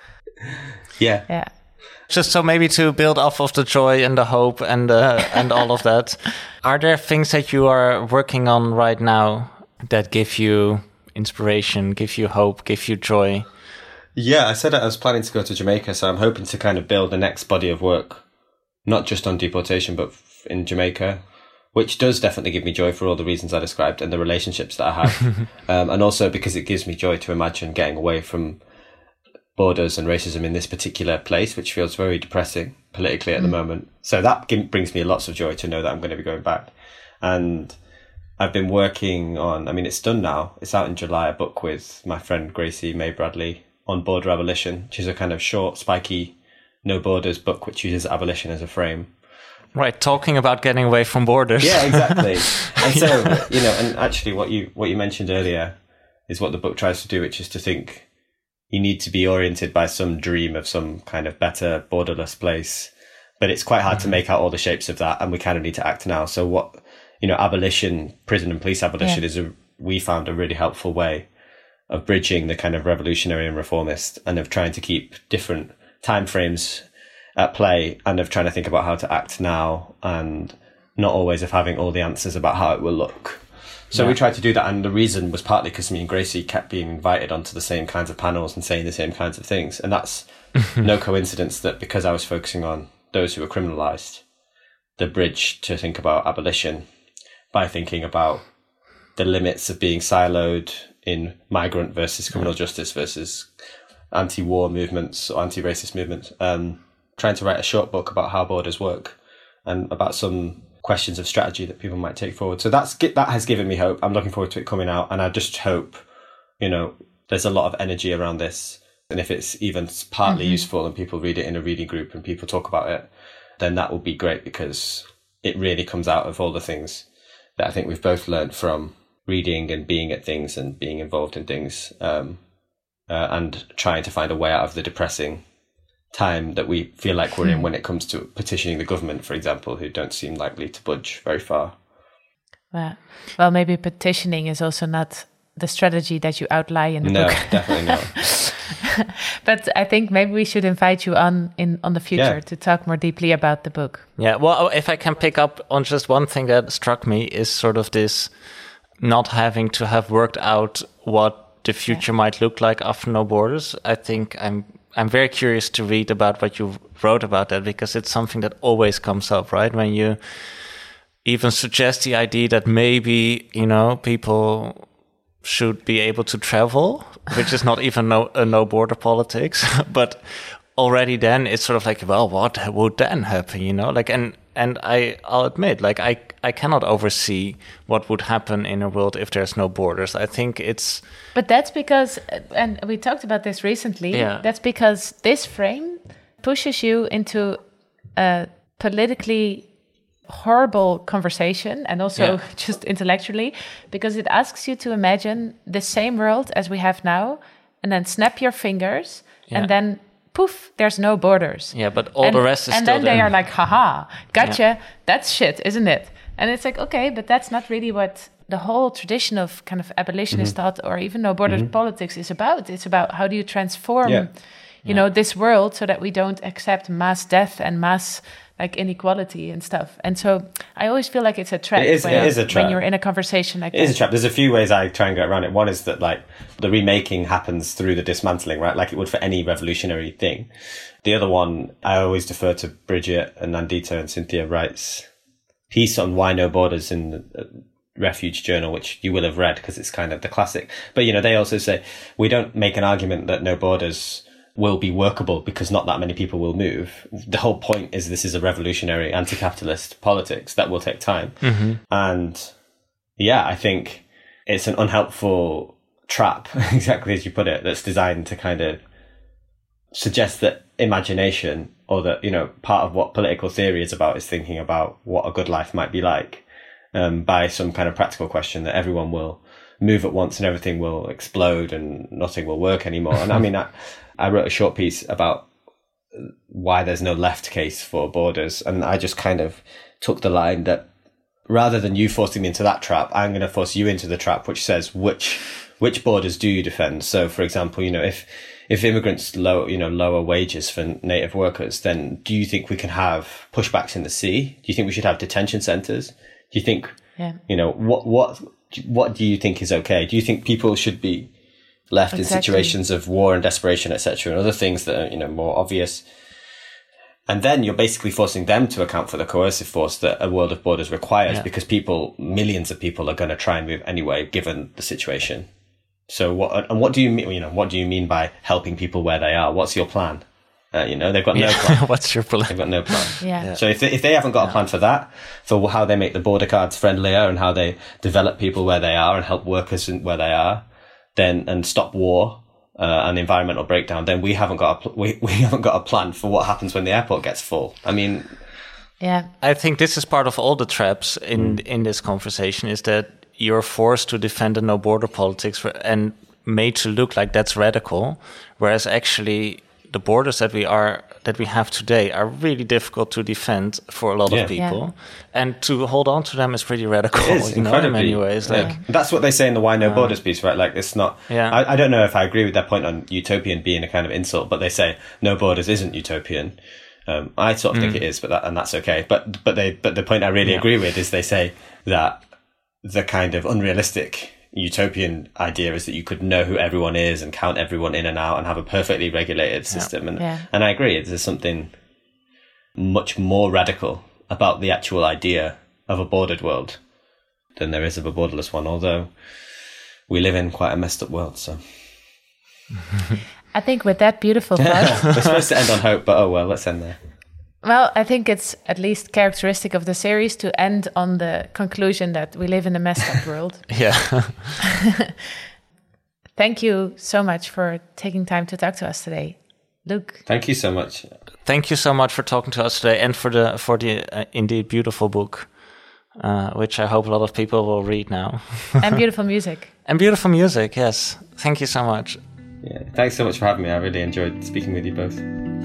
yeah. Yeah. Just so maybe to build off of the joy and the hope and uh, and all of that, are there things that you are working on right now that give you inspiration, give you hope, give you joy? Yeah, I said I was planning to go to Jamaica, so I'm hoping to kind of build the next body of work, not just on deportation, but f- in Jamaica, which does definitely give me joy for all the reasons I described and the relationships that I have. um, and also because it gives me joy to imagine getting away from borders and racism in this particular place, which feels very depressing politically at the moment. So that g- brings me lots of joy to know that I'm going to be going back. And I've been working on, I mean, it's done now. It's out in July, a book with my friend Gracie May Bradley on border abolition, which is a kind of short, spiky, no borders book, which uses abolition as a frame. Right, talking about getting away from borders. Yeah, exactly. And so, you know, and actually what you what you mentioned earlier is what the book tries to do, which is to think you need to be oriented by some dream of some kind of better borderless place. But it's quite hard mm-hmm. to make out all the shapes of that, and we kind of need to act now. So what, you know, abolition, prison and police abolition yeah. is, a we found, a really helpful way of bridging the kind of revolutionary and reformist, and of trying to keep different timeframes at play, and of trying to think about how to act now, and not always of having all the answers about how it will look. So yeah. we tried to do that, and the reason was partly because me and Gracie kept being invited onto the same kinds of panels and saying the same kinds of things. And that's no coincidence that because I was focusing on those who were criminalised, the bridge to think about abolition by thinking about the limits of being siloed in migrant versus criminal justice versus anti-war movements or anti-racist movements, um, trying to write a short book about how borders work and about some questions of strategy that people might take forward. So that's that has given me hope. I'm looking forward to it coming out, and I just hope, you know, there's a lot of energy around this, and if it's even partly mm-hmm. useful and people read it in a reading group and people talk about it, then that will be great, because it really comes out of all the things that I think we've both learned from reading and being at things and being involved in things, um, uh, and trying to find a way out of the depressing time that we feel like we're in when it comes to petitioning the government, for example, who don't seem likely to budge very far. Well, well, maybe petitioning is also not the strategy that you outline in the no, book. No, definitely not. But I think maybe we should invite you on in on the future yeah. to talk more deeply about the book. Yeah, well, if I can pick up on just one thing that struck me is sort of this not having to have worked out what the future yeah. might look like after No Borders. I think I'm I'm very curious to read about what you wrote about that, because it's something that always comes up, right? When you even suggest the idea that maybe, you know, people should be able to travel, which is not even no, a no border politics, but already then it's sort of like, well, what would then happen, you know? Like, and, and I, I'll admit, like, I, I cannot oversee what would happen in a world if there's no borders. I think it's... But that's because, and we talked about this recently, yeah. that's because this frame pushes you into a politically horrible conversation, and also yeah. just intellectually, because it asks you to imagine the same world as we have now, and then snap your fingers, yeah. and then poof, there's no borders. Yeah, but all and, the rest is and still then there. they are like, haha, gotcha, yeah. that's shit, isn't it? And it's like, okay, but that's not really what the whole tradition of kind of abolitionist mm-hmm. thought, or even no borders mm-hmm. politics, is about. It's about how do you transform, yeah. you yeah. know, this world so that we don't accept mass death and mass like inequality and stuff. And so I always feel like it's a trap. It is, when, it is a trap. When you're in a conversation like it that. It is a trap. There's a few ways I try and get around it. One is that, like, the remaking happens through the dismantling, right? Like it would for any revolutionary thing. The other one, I always defer to Bridget and Nandita and Cynthia Wright's piece on Why No Borders in the Refuge Journal, which you will have read because it's kind of the classic. But, you know, they also say, we don't make an argument that no borders will be workable because not that many people will move. The whole point is this is a revolutionary anti-capitalist politics that will take time. Mm-hmm. And yeah, I think it's an unhelpful trap, exactly as you put it, that's designed to kind of suggest that imagination, or that, you know, part of what political theory is about is thinking about what a good life might be like, um, by some kind of practical question that everyone will move at once and everything will explode and nothing will work anymore. And I mean, I, I wrote a short piece about why there's no left case for borders. And I just kind of took the line that rather than you forcing me into that trap, I'm going to force you into the trap, which says which which borders do you defend? So, for example, you know, if if immigrants low, you know, lower wages for native workers, then do you think we can have pushbacks in the sea? Do you think we should have detention centres? Do you think, yeah. you know, what what what do you think is okay? Do you think people should be left exactly. in situations of war and desperation, et cetera, and other things that are, you know, more obvious? And then you're basically forcing them to account for the coercive force that a world of borders requires, yeah. because people, millions of people, are going to try and move anyway, given the situation. So what, and what do you mean, you know, what do you mean by helping people where they are? What's your plan? Uh, you know, they've got no yeah. plan. What's your plan? They've got no plan. yeah. yeah. So if they, if they haven't got yeah. a plan for that, for how they make the border guards friendlier and how they develop people where they are and help workers where they are, then, and stop war, uh, and environmental breakdown, then we haven't got a, pl- we, we haven't got a plan for what happens when the airport gets full. I mean, yeah. I think this is part of all the traps in, mm. in this conversation, is that you're forced to defend the no border politics for, and made to look like that's radical, whereas actually the borders that we are that we have today are really difficult to defend for a lot yeah. of people, yeah. and to hold on to them is pretty radical. It is, you know, in many ways. Like yeah. that's what they say in the Why No uh, Borders piece, right? Like it's not. Yeah. I, I don't know if I agree with that point on utopian being a kind of insult, but they say no borders isn't utopian. Um, I sort of mm. think it is, but that, and that's okay. But but they but the point I really yeah. agree with is they say that the kind of unrealistic utopian idea is that you could know who everyone is and count everyone in and out and have a perfectly regulated system. Yeah. And yeah. and I agree, there's something much more radical about the actual idea of a bordered world than there is of a borderless one, although we live in quite a messed up world. So I think with that beautiful thought, we're supposed to end on hope, but oh well, let's end there. Well, I think it's at least characteristic of the series to end on the conclusion that we live in a messed up world. Yeah. Thank you so much for taking time to talk to us today, Luke. Thank you so much. Thank you so much for talking to us today, and for the for the uh, indeed beautiful book, uh, which I hope a lot of people will read now. And beautiful music. And beautiful music, yes. Thank you so much. Yeah, thanks so much for having me. I really enjoyed speaking with you both.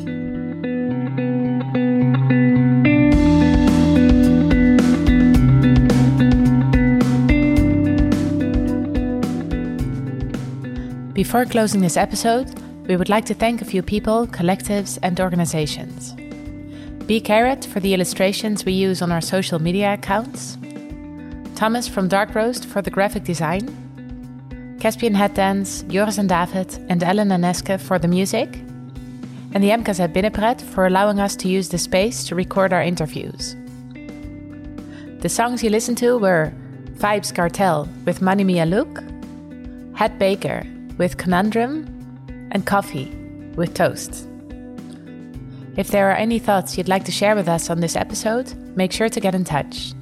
Before closing this episode, we would like to thank a few people, collectives, and organizations. B. Carrot for the illustrations we use on our social media accounts, Thomas from Dark Roast for the graphic design, Caspian Head Dance, Joris and David, and Ellen Naneske for the music, and the M K Z Binnenpret for allowing us to use the space to record our interviews. The songs you listened to were Vibes Cartel with Money Mia Luke, Het Baker with Conundrum, and Coffee with Toast. If there are any thoughts you'd like to share with us on this episode, make sure to get in touch.